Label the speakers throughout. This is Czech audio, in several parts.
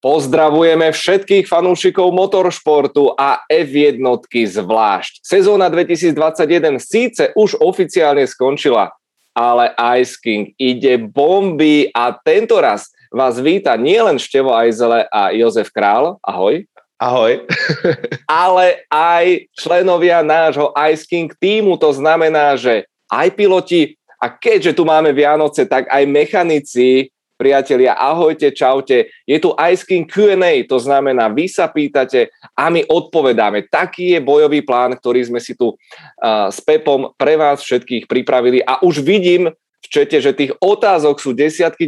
Speaker 1: Pozdravujeme všetkých fanúšikov motoršportu a F1 zvlášť. Sezóna 2021 síce už oficiálne skončila, ale Ice King ide bomby a tento raz vás víta nielen Števo Ajzele a Jozef Král, ahoj.
Speaker 2: Ahoj.
Speaker 1: Ale aj členovia nášho Ice King tímu, to znamená, že aj piloti a keďže tu máme Vianoce, tak aj mechanici. Priatelia, ahojte, čaute. Je tu Ice King Q&A, to znamená, vy sa pýtate a my odpovedáme. Taký je bojový plán, ktorý sme si tu s Pepom pre vás všetkých pripravili a už vidím v čete, že tých otázok sú desiatky.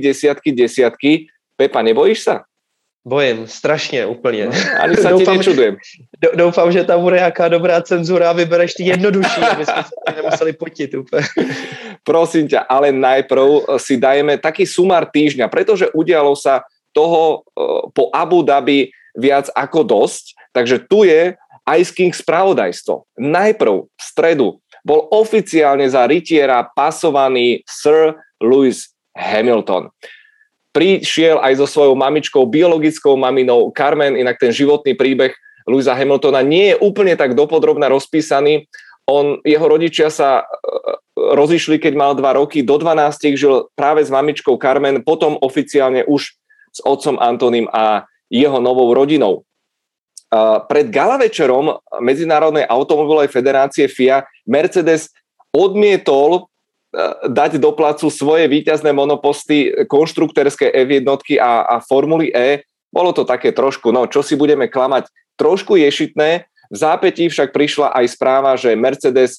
Speaker 1: Pepa, nebojíš sa?
Speaker 2: Bojím, strašně, úplně.
Speaker 1: Ani sa ti nečudujem.
Speaker 2: Doufám, že tam bude jaká dobrá cenzura a vybereš ty jednodušší, aby sme sa nemuseli potiť úplne.
Speaker 1: Prosím ťa, ale najprv si dajeme taký sumár týždňa, pretože udialo sa toho po Abu Dhabi viac ako dosť, takže tu je Ice King spravodajstvo. Najprv v stredu bol oficiálne za rytiera pasovaný Sir Lewis Hamilton. Prišiel aj so svojou mamičkou, biologickou maminou Carmen, inak ten životný príbeh Lewisa Hamiltona nie je úplne tak dopodrobna rozpísaný. Jeho rodičia sa rozišli, keď mal 2 roky, do 12 žil práve s mamičkou Carmen, potom oficiálne už s otcom Antoním a jeho novou rodinou. Pred gala večerom Medzinárodnej automobilovej federácie FIA Mercedes odmietol dať do placu svoje víťazné monoposty konštruktérske F1 a Formuly E. Bolo to také trošku, čo si budeme klamať, trošku ješitné. V zápätí však prišla aj správa, že Mercedes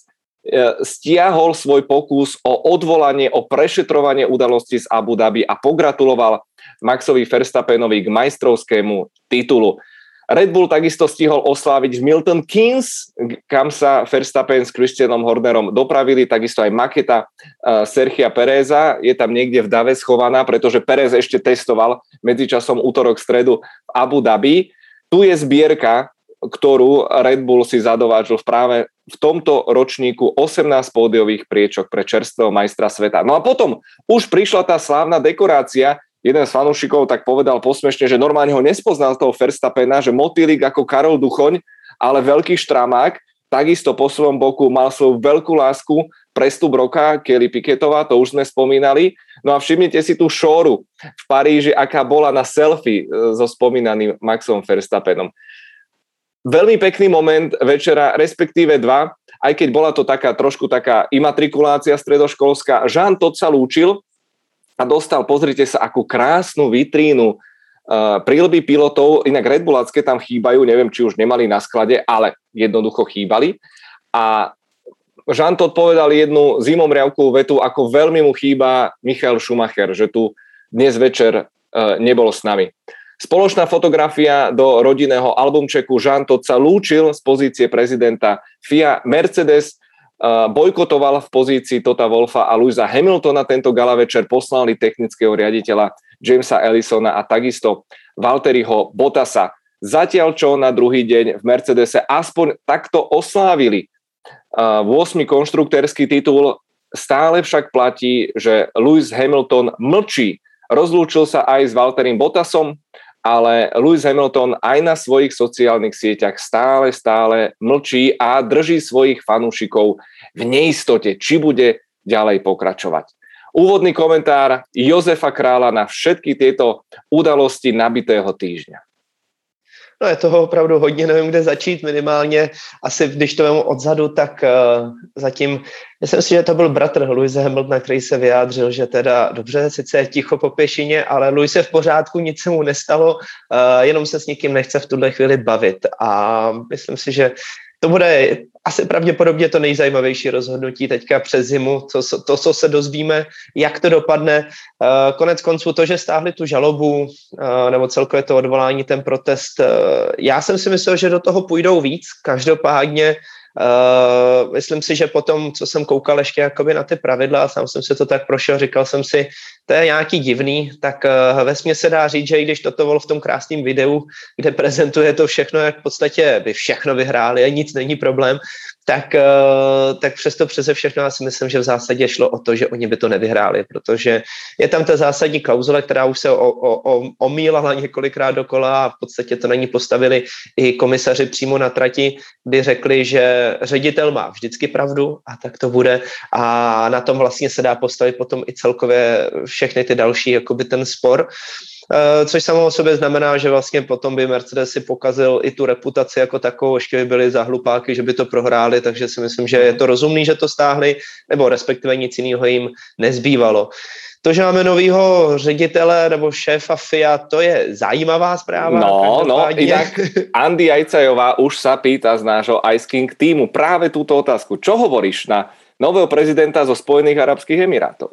Speaker 1: stiahol svoj pokus o odvolanie, o prešetrovanie udalosti z Abu Dhabi a pogratuloval Maxovi Verstappenovi k majstrovskému titulu. Red Bull takisto stihol osláviť v Milton Keynes, kam sa Verstappen s Christianom Hornerom dopravili, takisto aj maketa Sergia Pereza je tam niekde v dave schovaná, pretože Perez ešte testoval medzičasom útorok, stredu v Abu Dhabi. Tu je zbierka, ktorú Red Bull si zadovážil práve v tomto ročníku 18 pódiových priečok pre čerstvého majstra sveta. No a potom už prišla tá slávna dekorácia. Jeden z fanúšikov tak povedal posmešne, že normálne ho nespoznal toho Verstappena, že motýlik ako Karol Duchoň, ale veľký štramák. Takisto po svojom boku mal svoju veľkú lásku prestup roka Kelly Piquetová, to už sme spomínali. No a všimnite si tú šóru v Paríži, aká bola na selfie so spomínaným Maxom Verstappenom. Veľmi pekný moment večera, respektíve 2, aj keď bola to trošku taká imatrikulácia stredoškolská. Jean Todt sa lúčil a dostal, pozrite sa, akú krásnu vitrínu príľby pilotov, inak Red Bullacké tam chýbajú, neviem, či už nemali na sklade, ale jednoducho chýbali. A Jean Todt povedal jednu zimomriavkovú vetu, ako veľmi mu chýba Michael Schumacher, že tu dnes večer nebol s nami. Spoločná fotografia do rodinného albumčeku. Jean Todt sa lúčil z pozície prezidenta FIA. Mercedes bojkotoval v pozícii Tota Wolffa a Lewisa Hamiltona tento gala večer, poslali technického riaditeľa Jamesa Ellisona a takisto Valtteriho Bottasa. Zatiaľ čo na druhý deň v Mercedese aspoň takto oslávili 8. konštruktérsky titul, stále však platí, že Lewis Hamilton mlčí. Rozlúčil sa aj s Valtterim Bottasom, ale Lewis Hamilton aj na svojich sociálnych sieťach stále mlčí a drží svojich fanúšikov v neistote, či bude ďalej pokračovať. Úvodný komentár Jozefa Krála na všetky tieto udalosti nabitého týždňa.
Speaker 2: No je toho opravdu hodně, nevím, kde začít, minimálně asi, když to vemu odzadu, tak zatím, myslím si, že to byl bratr Lewise Hamiltona, který se vyjádřil, že teda dobře, sice je ticho po pěšině, ale Lewis je v pořádku, nic se mu nestalo, jenom se s nikým nechce v tuhle chvíli bavit a myslím si, že to bude asi pravděpodobně to nejzajímavější rozhodnutí teďka přes zimu, co se dozvíme, jak to dopadne. Konec konců to, že stáhli tu žalobu, nebo celkově to odvolání, ten protest, já jsem si myslel, že do toho půjdou víc, každopádně myslím si, že potom, co jsem koukal ještě jakoby na ty pravidla a sám jsem si to tak prošel, říkal jsem si, to je nějaký divný, tak vesměs se dá říct, že i když toto bylo v tom krásném videu, kde prezentuje to všechno, jak v podstatě by všechno vyhráli a nic není problém, tak přesto přeze všechno já si myslím, že v zásadě šlo o to, že oni by to nevyhráli, protože je tam ta zásadní klauzule, která už se omílala několikrát dokola a v podstatě to na ní postavili i komisaři přímo na trati, kdy řekli, že ředitel má vždycky pravdu a tak to bude a na tom vlastně se dá postavit potom i celkově všechny ty další, jakoby ten spor. Což samo o sobě znamená, že vlastně potom by Mercedes si pokazil i tu reputaci jako takovou, ještě by byli za hlupáky, že by to prohráli, takže si myslím, že je to rozumný, že to stáhli, nebo respektive nic jiného jim nezbývalo. To, že máme novýho ředitele nebo šéfa FIA, to je zajímavá zpráva.
Speaker 1: No, inak Andy Ajcajová už sa pýta z nášho Ice King týmu práve túto otázku. Čo hovoríš na nového prezidenta zo Spojených arabských emirátov?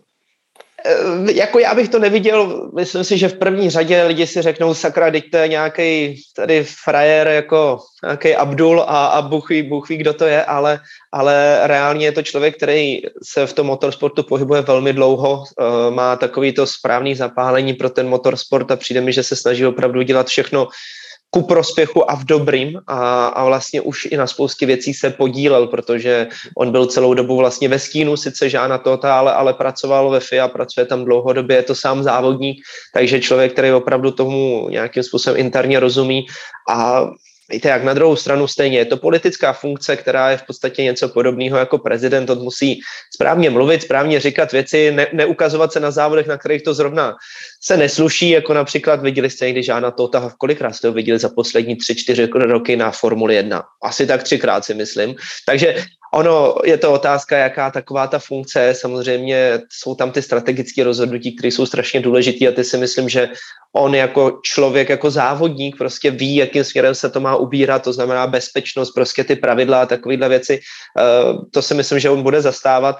Speaker 2: Jako já bych to neviděl, myslím si, že v první řadě lidi si řeknou, sakra, teď to je nějaký tady frajer, jako nějaký Abdul a Bůh ví, kdo to je, ale reálně je to člověk, který se v tom motorsportu pohybuje velmi dlouho, má takový to správný zapálení pro ten motorsport a přijde mi, že se snaží opravdu dělat všechno ku prospěchu a v dobrým a vlastně už i na spoustě věcí se podílel, protože on byl celou dobu vlastně ve stínu sice Jeana Tota, ale pracoval ve FIA, pracuje tam dlouhodobě, je to sám závodník, takže člověk, který opravdu tomu nějakým způsobem interně rozumí a víte, jak na druhou stranu stejně je to politická funkce, která je v podstatě něco podobného jako prezident, on musí správně mluvit, správně říkat věci, neukazovat se na závodech, na kterých to zrovna se nesluší, jako například viděli jste někdy Jeana Tota, kolikrát jste ho viděli za poslední 3-4 roky na Formuli 1, asi tak 3krát si myslím, takže ono je to otázka, jaká taková ta funkce je, samozřejmě jsou tam ty strategické rozhodnutí, které jsou strašně důležité a ty si myslím, že on jako člověk, jako závodník prostě ví, jakým směrem se to má ubírat, to znamená bezpečnost, prostě ty pravidla a takovéhle věci, to si myslím, že on bude zastávat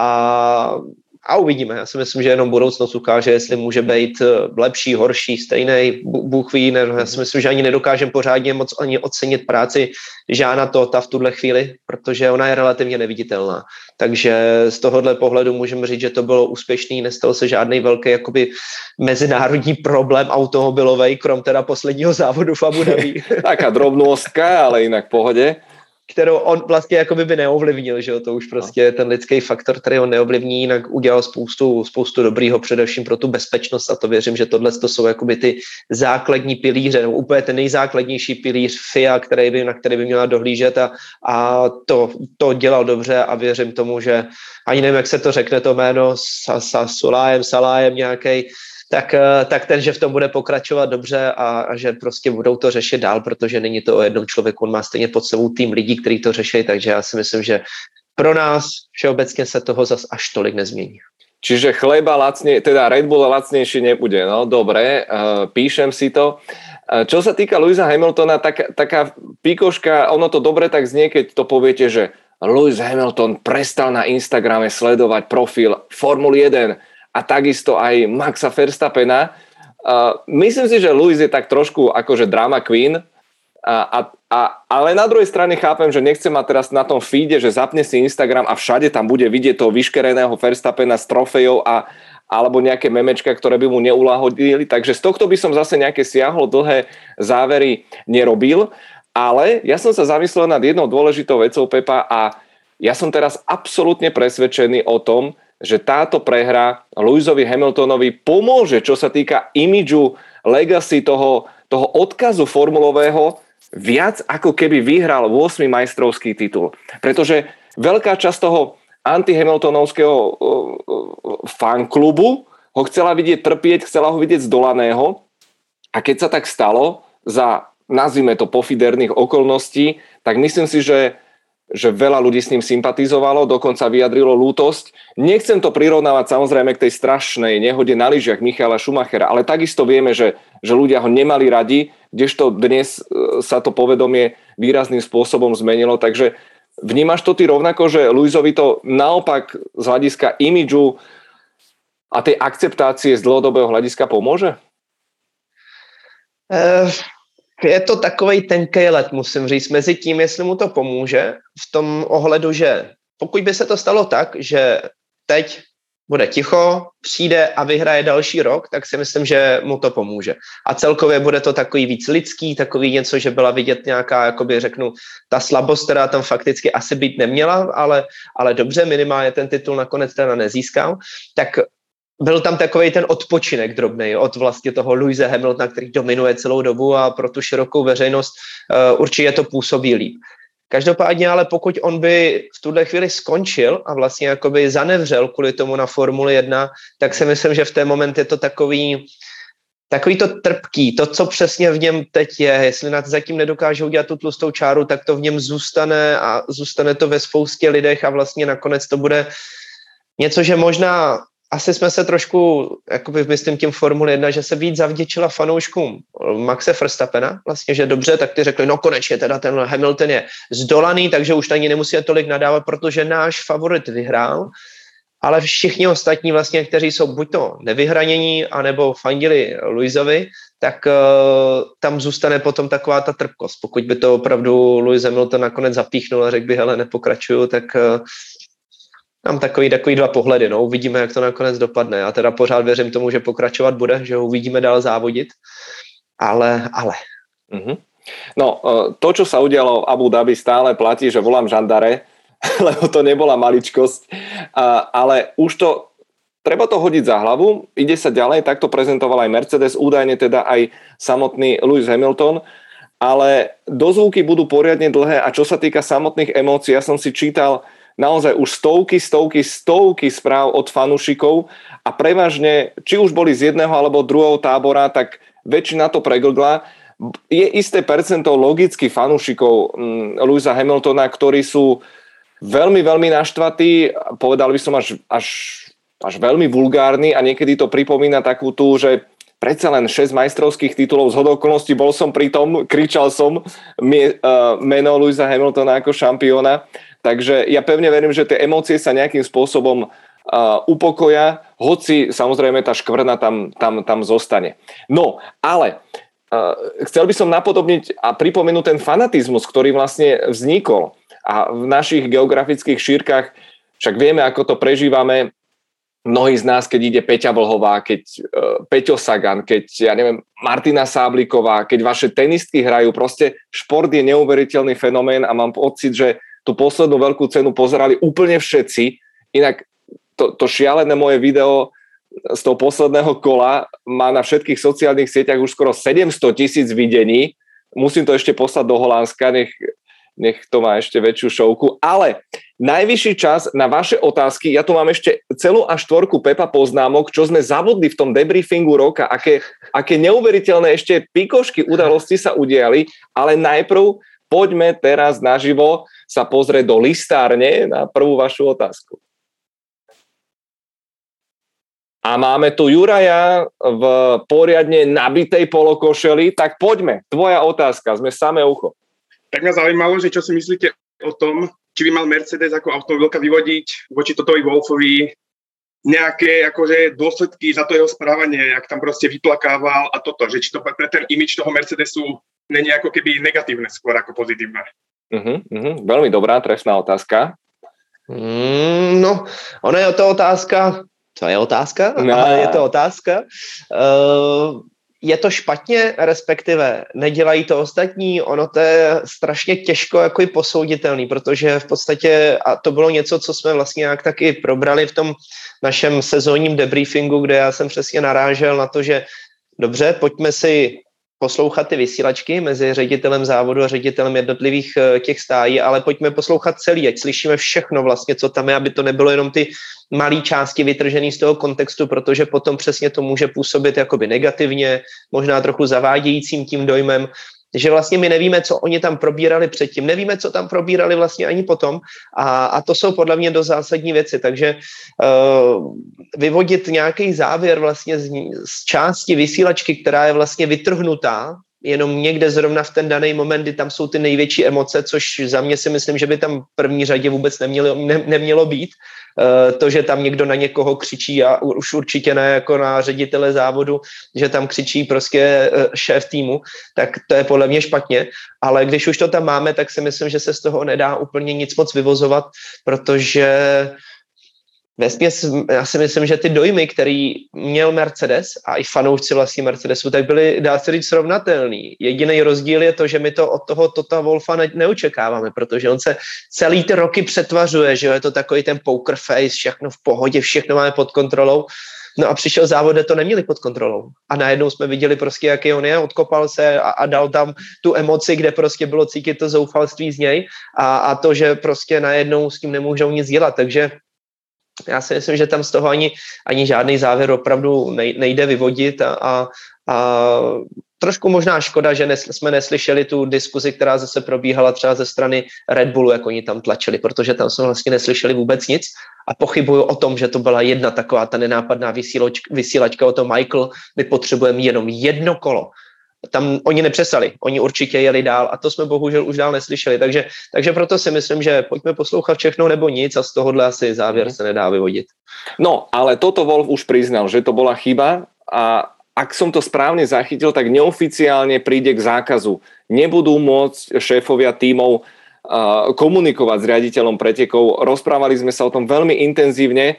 Speaker 2: a uvidíme. Já si myslím, že jenom budoucnost ukáže, jestli může být lepší, horší, stejný, Bůh ví, já si myslím, že ani nedokážeme pořádně moc ani ocenit práci Jeana Tota v tuhle chvíli, protože ona je relativně neviditelná. Takže z tohohle pohledu můžeme říct, že to bylo úspěšný, nestal se žádný velký jakoby mezinárodní problém automobilový, krom teda posledního závodu v Abu Dhabi.
Speaker 1: Taká drobnostka, ale jinak v pohodě.
Speaker 2: Kterou on vlastně jakoby by neovlivnil, že jo, to už prostě je ten lidský faktor, který on neovlivní, jinak udělal spoustu dobrýho, především pro tu bezpečnost a to věřím, že tohle to jsou jakoby ty základní pilíře, nebo úplně ten nejzákladnější pilíř FIA, na který by měla dohlížet a to dělal dobře a věřím tomu, že ani nevím, jak se to řekne to jméno, Salájem nějaký, tak ten, že v tom bude pokračovat dobře a že prostě budou to řešit dál, protože není to o jednom člověku, on má stejně pod sebou tým lidí, kteří to řeší, takže já si myslím, že pro nás všeobecně se toho zas až tolik nezmění.
Speaker 1: Čiže chleba lacne, teda Red Bull lacnejší nebude, no dobre, píšem si to. Čo sa týka Lewisa Hamiltona, taká píkoška, ono to dobre tak znie, keď to poviete, že Lewis Hamilton prestal na Instagrame sledovať profil Formuly 1 a takisto aj Maxa Verstappena. Myslím si, že Lewis je tak trošku akože drama queen, ale na druhej strane chápem, že nechce mať teraz na tom feede, že zapne si Instagram a všade tam bude vidieť toho vyškereného Verstappena s trofejou alebo nejaké memečka, ktoré by mu neulahodili. Takže z tohto by som zase nejaké siahlo dlhé závery nerobil. Ale ja som sa zamyslel nad jednou dôležitou vecou, Pepa, a ja som teraz absolútne presvedčený o tom, že táto prehra Lewisovi Hamiltonovi pomôže, čo sa týka imidžu, legacy toho odkazu formulového, viac ako keby vyhral 8. majstrovský titul. Pretože veľká časť toho anti-hamiltonovského fanklubu ho chcela vidieť trpieť, chcela ho vidieť zdolaného a keď sa tak stalo za, nazvime to, pofiderných okolností, tak myslím si, že veľa ľudí s ním sympatizovalo, dokonca vyjadrilo lútosť. Nechcem to prirovnávať samozrejme k tej strašnej nehode na lyžiach Michaela Schumachera, ale takisto vieme, že ľudia ho nemali radi, kdežto dnes sa to povedomie výrazným spôsobom zmenilo. Takže vnímaš to ty rovnako, že Lewisovi to naopak z hľadiska imidžu a tej akceptácie z dlhodobého hľadiska pomôže?
Speaker 2: Je to takovej tenkej let, musím říct, mezi tím, jestli mu to pomůže, v tom ohledu, že pokud by se to stalo tak, že teď bude ticho, přijde a vyhraje další rok, tak si myslím, že mu to pomůže. A celkově bude to takový víc lidský, takový něco, že byla vidět nějaká, jakoby řeknu, ta slabost, která tam fakticky asi být neměla, ale dobře, minimálně ten titul nakonec teda nezískal, tak byl tam takovej ten odpočinek drobnej od vlastně toho Lewise Hamiltona, který dominuje celou dobu a pro tu širokou veřejnost určitě to působí líp. Každopádně ale pokud on by v tuhle chvíli skončil a vlastně jakoby zanevřel kvůli tomu na Formuli 1, tak si myslím, že v ten moment je to takový to trpký, to, co přesně v něm teď je, jestli zatím nedokáže udělat tu tlustou čáru, tak to v něm zůstane a zůstane to ve spoustě lidech a vlastně nakonec to bude něco, že možná asi jsme se trošku, jakoby myslím tím Formule 1, že se víc zavděčila fanouškům Maxe Verstappena, vlastně, že dobře, tak ty řekli, no konečně teda ten Hamilton je zdolaný, takže už ani nemusí tolik nadávat, protože náš favorit vyhrál, ale všichni ostatní vlastně, kteří jsou buď to nevyhranění, anebo fandili Lewisovi, tak tam zůstane potom taková ta trpkost. Pokud by to opravdu Lewis Hamilton nakonec zapíchnul a řekl by, hele, nepokračuju, tak mám takový dva pohledy, no, uvidíme, jak to nakonec dopadne. Já teda pořád věřím tomu, že pokračovat bude, že ho uvidíme dál závodit, ale.
Speaker 1: Mm-hmm. No, to, čo sa udialo v Abu Dhabi, stále platí, že volám žandare, lebo to nebola maličkosť, ale už to, treba to hodiť za hlavu, ide sa ďalej, takto prezentoval aj Mercedes, údajne teda aj samotný Lewis Hamilton, ale dozvuky budú poriadne dlhé a čo sa týka samotných emócií, ja som si čítal naozaj už stovky správ od fanúšikov a prevažne, či už boli z jedného alebo druhého tábora, tak väčšina to preglgla. Je isté percento logických fanúšikov Lewisa Hamiltona, ktorí sú veľmi, veľmi naštvatí, povedal by som až veľmi vulgárni a niekedy to pripomína takú tú, že predsa len 6 majstrovských titulov, zhodou okolností bol som pri tom, kričal som meno Lewisa Hamiltona ako šampióna. Takže ja pevne verím, že tie emócie sa nejakým spôsobom upokoja, hoci samozrejme tá škvrna tam zostane. No, ale chcel by som napodobniť a pripomenúť ten fanatizmus, ktorý vlastne vznikol a v našich geografických šírkach, však vieme, ako to prežívame, mnohí z nás, keď ide Peťa Vlhová, keď Peťo Sagan, keď, ja neviem, Martina Sábliková, keď vaše tenistky hrajú, proste šport je neuveriteľný fenomén a mám pocit, že tú poslednú veľkú cenu pozerali úplne všetci. Inak to šialené moje video z toho posledného kola má na všetkých sociálnych sieťach už skoro 700,000 videní. Musím to ešte poslať do Holandska, nech to má ešte väčšiu šovku. Ale najvyšší čas na vaše otázky. Ja tu mám ešte celú A4 Pepa poznámok, čo sme zabudli v tom debriefingu roka, aké neuveriteľné ešte pikošky udalosti sa udiali, ale najprv poďme teraz naživo sa pozrieť do listárne na prvú vašu otázku. A máme tu Juraja v poriadne nabitej polokošeli, tak poďme, tvoja otázka, sme samé ucho.
Speaker 3: Tak mňa zaujímalo, že čo si myslíte o tom, či by mal Mercedes ako automobilka vyvodiť voči Totovi Wolffovi nejaké akože dôsledky za to jeho správanie, jak tam proste vyplakával a toto, že či to pre ten imidž toho Mercedesu není ako keby negatívne skôr ako pozitívne.
Speaker 1: Veľmi dobrá, trefná otázka.
Speaker 2: No, ono je to otázka. Co je otázka? No. Je to otázka. Je to špatně, respektive nedělají to ostatní, ono to je strašně těžko jako i posouditelný, protože v podstatě, a to bylo něco, co jsme vlastně nějak taky probrali v tom našem sezónním debriefingu, kde já jsem přesně narážel na to, že dobře, pojďme si poslouchat ty vysílačky mezi ředitelem závodu a ředitelem jednotlivých těch stájí, ale pojďme poslouchat celý, ať slyšíme všechno vlastně, co tam je, aby to nebylo jenom ty malé části vytržené z toho kontextu, protože potom přesně to může působit jakoby negativně, možná trochu zavádějícím tím dojmem, že vlastně my nevíme, co oni tam probírali předtím, nevíme, co tam probírali vlastně ani potom a to jsou podle mě dost zásadní věci, takže vyvodit nějaký závěr vlastně z části vysílačky, která je vlastně vytrhnutá, jenom někde zrovna v ten daný moment, kdy tam jsou ty největší emoce, což za mě si myslím, že by tam v první řadě vůbec nemělo být. To, že tam někdo na někoho křičí a už určitě ne jako na ředitele závodu, že tam křičí prostě šéf týmu, tak to je podle mě špatně, ale když už to tam máme, tak si myslím, že se z toho nedá úplně nic moc vyvozovat, protože vesměs, já si myslím, že ty dojmy, který měl Mercedes a i fanoušci vlastní Mercedesu, tak byly, dá se říct, srovnatelný. Jediný rozdíl je to, že my to od toho Tota Wolffa neočekáváme, protože on se celý ty roky přetvařuje, že je to takový ten poker face, všechno v pohodě, všechno máme pod kontrolou. No a přišel závod, kde to neměli pod kontrolou. A najednou jsme viděli prostě, jaký on je, odkopal se a dal tam tu emoci, kde prostě bylo cítit to zoufalství z něj a to, že prostě najednou s tím nemůžou nic dělat. Takže já si myslím, že tam z toho ani žádný závěr opravdu nejde vyvodit a trošku možná škoda, že jsme neslyšeli tu diskuzi, která zase probíhala třeba ze strany Red Bullu, jak oni tam tlačili, protože tam jsme vlastně neslyšeli vůbec nic a pochybuju o tom, že to byla jedna taková ta nenápadná vysílačka o tom, Michael, my potřebujeme jenom jedno kolo. Tam oni nepřestali, oni určitě jeli dál a to jsme bohužel už dál neslyšeli, takže proto si myslím, že pojďme poslouchat všechno nebo nic a z tohohle asi závěr se nedá vyvodit.
Speaker 1: No, ale Toto Wolff už priznal, že to bola chyba a ak som to správne zachytil, tak neoficiálne príde k zákazu. Nebudú môcť šéfovia tímov komunikovať s riaditeľom pretekov. Rozprávali sme sa o tom veľmi intenzívne,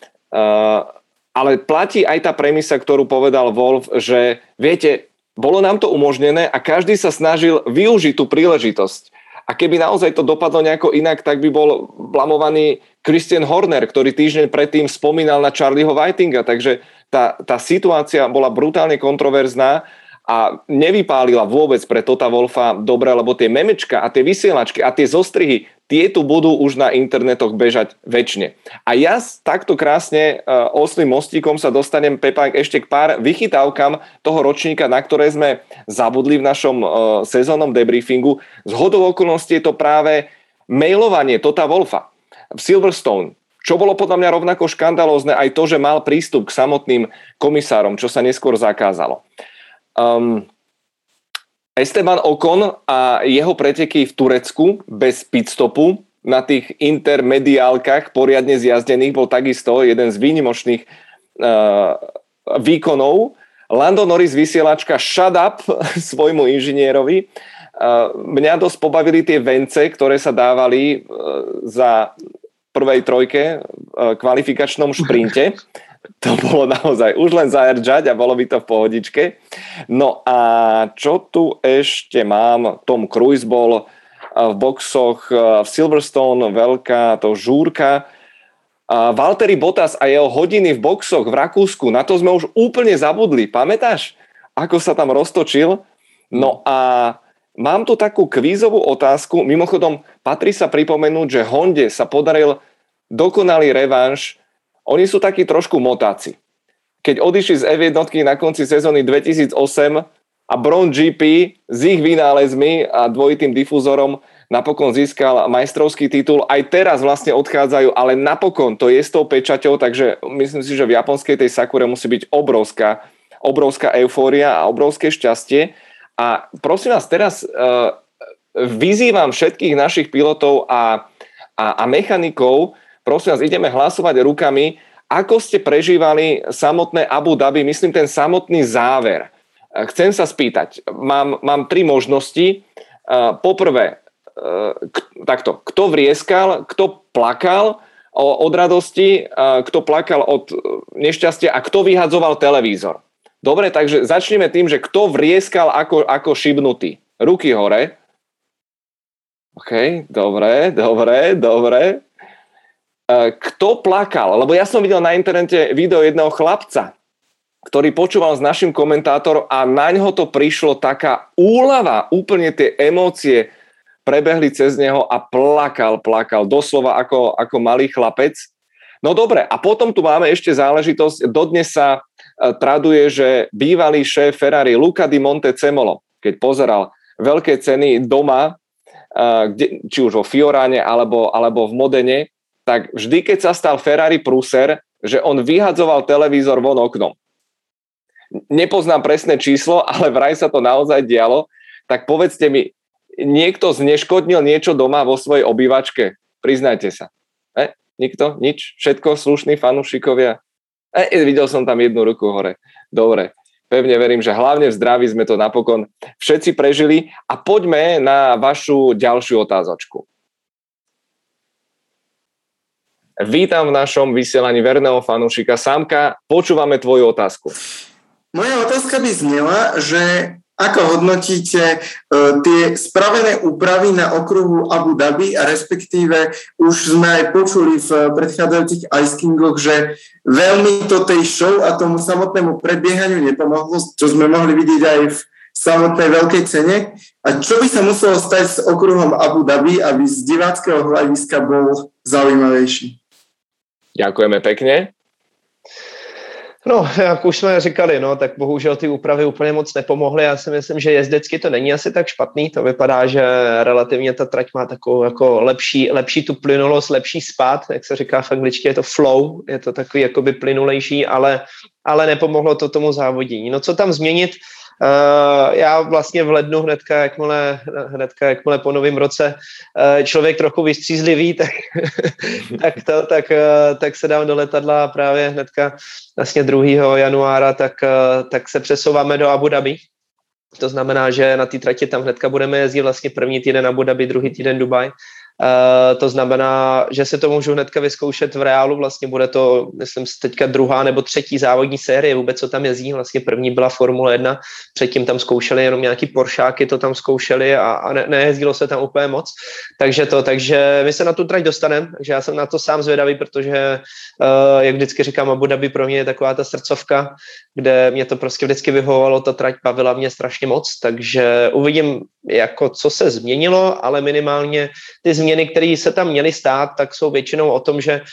Speaker 1: ale platí aj tá premisa, ktorú povedal Wolff, že viete, bolo nám to umožnené a každý sa snažil využiť tú príležitosť. A keby naozaj to dopadlo nejako inak, tak by bol blamovaný Christian Horner, ktorý týždeň predtým spomínal na Charlieho Whitinga. Takže tá situácia bola brutálne kontroverzná a nevypálila vôbec pre Tota Wolffa dobre, lebo tie memečka a tie vysielačky a tie zostrihy, tie tu budú už na internetoch bežať večne. A ja takto krásne oslým mostíkom sa dostanem, Pepa, ešte k pár vychytávkam toho ročníka, na ktoré sme zabudli v našom sezónnom debriefingu. Z hodou okolností je to práve mailovanie Tota Wolffa v Silverstone, čo bolo podľa mňa rovnako škandalózne aj to, že mal prístup k samotným komisárom, čo sa neskôr zakázalo. Esteban Ocon a jeho preteky v Turecku bez pitstopu na tých intermediálkach poriadne zjazdených bol takisto jeden z výnimočných výkonov. Lando Norris vysielačka shut up svojmu inžinierovi. Mňa dosť pobavili tie vence, ktoré sa dávali za prvej trojke kvalifikačnom šprinte. To bolo naozaj už len zaerdžať a bolo by to v pohodičke. No a čo tu ešte mám? Tom Cruise bol v boxoch v Silverstone, veľká to žúrka. Valtteri Bottas a jeho hodiny v boxoch v Rakúsku, na to sme už úplne zabudli. Pamätáš, ako sa tam roztočil? No a mám tu takú kvízovú otázku. Mimochodom, patrí sa pripomenúť, že Honde sa podaril dokonalý revanš. Oni sú takí trošku motáci. Keď odišli z F1 na konci sezóny 2008 a Brown GP s ich vynálezmi a dvojitým difúzorom napokon získal majstrovský titul. Aj teraz vlastne odchádzajú, ale napokon to je s tou pečaťou, takže myslím si, že v japonskej tej Sakure musí byť obrovská eufória a obrovské šťastie. A prosím vás, teraz vyzývam všetkých našich pilotov a mechanikov, prosím vás, ideme hlasovať rukami, ako ste prežívali samotné Abu Dhabi, myslím ten samotný záver. Chcem sa spýtať, mám 3 možnosti. Poprvé, takto, kto vrieskal, kto plakal od radosti, kto plakal od nešťastia a kto vyhadzoval televízor. Dobre, takže začneme tým, že kto vrieskal ako šibnutý. Ruky hore. OK, dobre. Kto plakal? Lebo ja som videl na internete video jedného chlapca, ktorý počúval s našim komentátorom a naňho to prišlo taká úľava, úplne tie emócie prebehli cez neho a plakal, doslova ako malý chlapec. No dobre, a potom tu máme ešte záležitosť, dodnes sa traduje, že bývalý šéf Ferrari Luca Di Montezemolo, keď pozeral veľké ceny doma, či už vo Fioráne alebo v Modene, tak vždy, keď sa stal Ferrari prúser, že on vyhadzoval televízor von oknom. Nepoznám presné číslo, ale vraj sa to naozaj dialo, tak povedzte mi, niekto zneškodnil niečo doma vo svojej obývačke? Priznajte sa. Nikto? Nič? Všetko slušní fanúšikovia? Videl som tam jednu ruku hore. Dobre. Pevne verím, že hlavne v zdraví sme to napokon všetci prežili. A poďme na vašu ďalšiu otázočku. Vítam v našom vysielaní verného fanúšika. Sámka, počúvame tvoju otázku.
Speaker 4: Moja otázka by znela, že ako hodnotíte tie spravené úpravy na okruhu Abu Dhabi a respektíve už sme aj počuli v predchádzajúcich Ice Kingoch, že veľmi to tej show a tomu samotnému predbiehaniu nepomohlo, čo sme mohli vidieť aj v samotnej veľkej cene. A čo by sa muselo stať s okruhom Abu Dhabi, aby z diváckého hľadiska bol zaujímavejší?
Speaker 1: Ďakujeme pekne.
Speaker 2: No, jak už jsme říkali, no, tak bohužel ty úpravy úplně moc nepomohly. Já si myslím, že jezdecky to není asi tak špatný. To vypadá, že relativně ta trať má takovou jako lepší tu plynulost, lepší spád, jak se říká v angličtině, je to flow, je to takový jakoby plynulejší, ale nepomohlo to tomu závodění. No co tam změnit? Já vlastně v lednu hnedka jakmile po novém roce člověk trochu vystřízlivý, tak se dám do letadla právě hnedka vlastně 2. januára, tak se přesouváme do Abu Dhabi. To znamená, že na té trati tam hnedka budeme jezdit vlastně první týden Abu Dhabi, druhý týden Dubaj. To znamená, že se to můžu hnedka vyzkoušet v reálu, vlastně bude to, myslím, teďka 2. nebo 3. závodní série, vůbec co tam jezdí, vlastně první byla Formule 1, předtím tam zkoušeli jenom nějaký Poršáky, to tam zkoušeli a nejezdilo se tam úplně moc, takže my se na tu trať dostaneme, takže já jsem na to sám zvědavý, protože jak vždycky říkám, Abu Dhabi pro mě je taková ta srdcovka, kde mě to prostě vždycky vyhovovalo, ta trať bavila mě strašně moc, takže uvidím, jako co se změnilo, ale minimálně ty změny, které se tam měly stát, tak jsou většinou o tom, že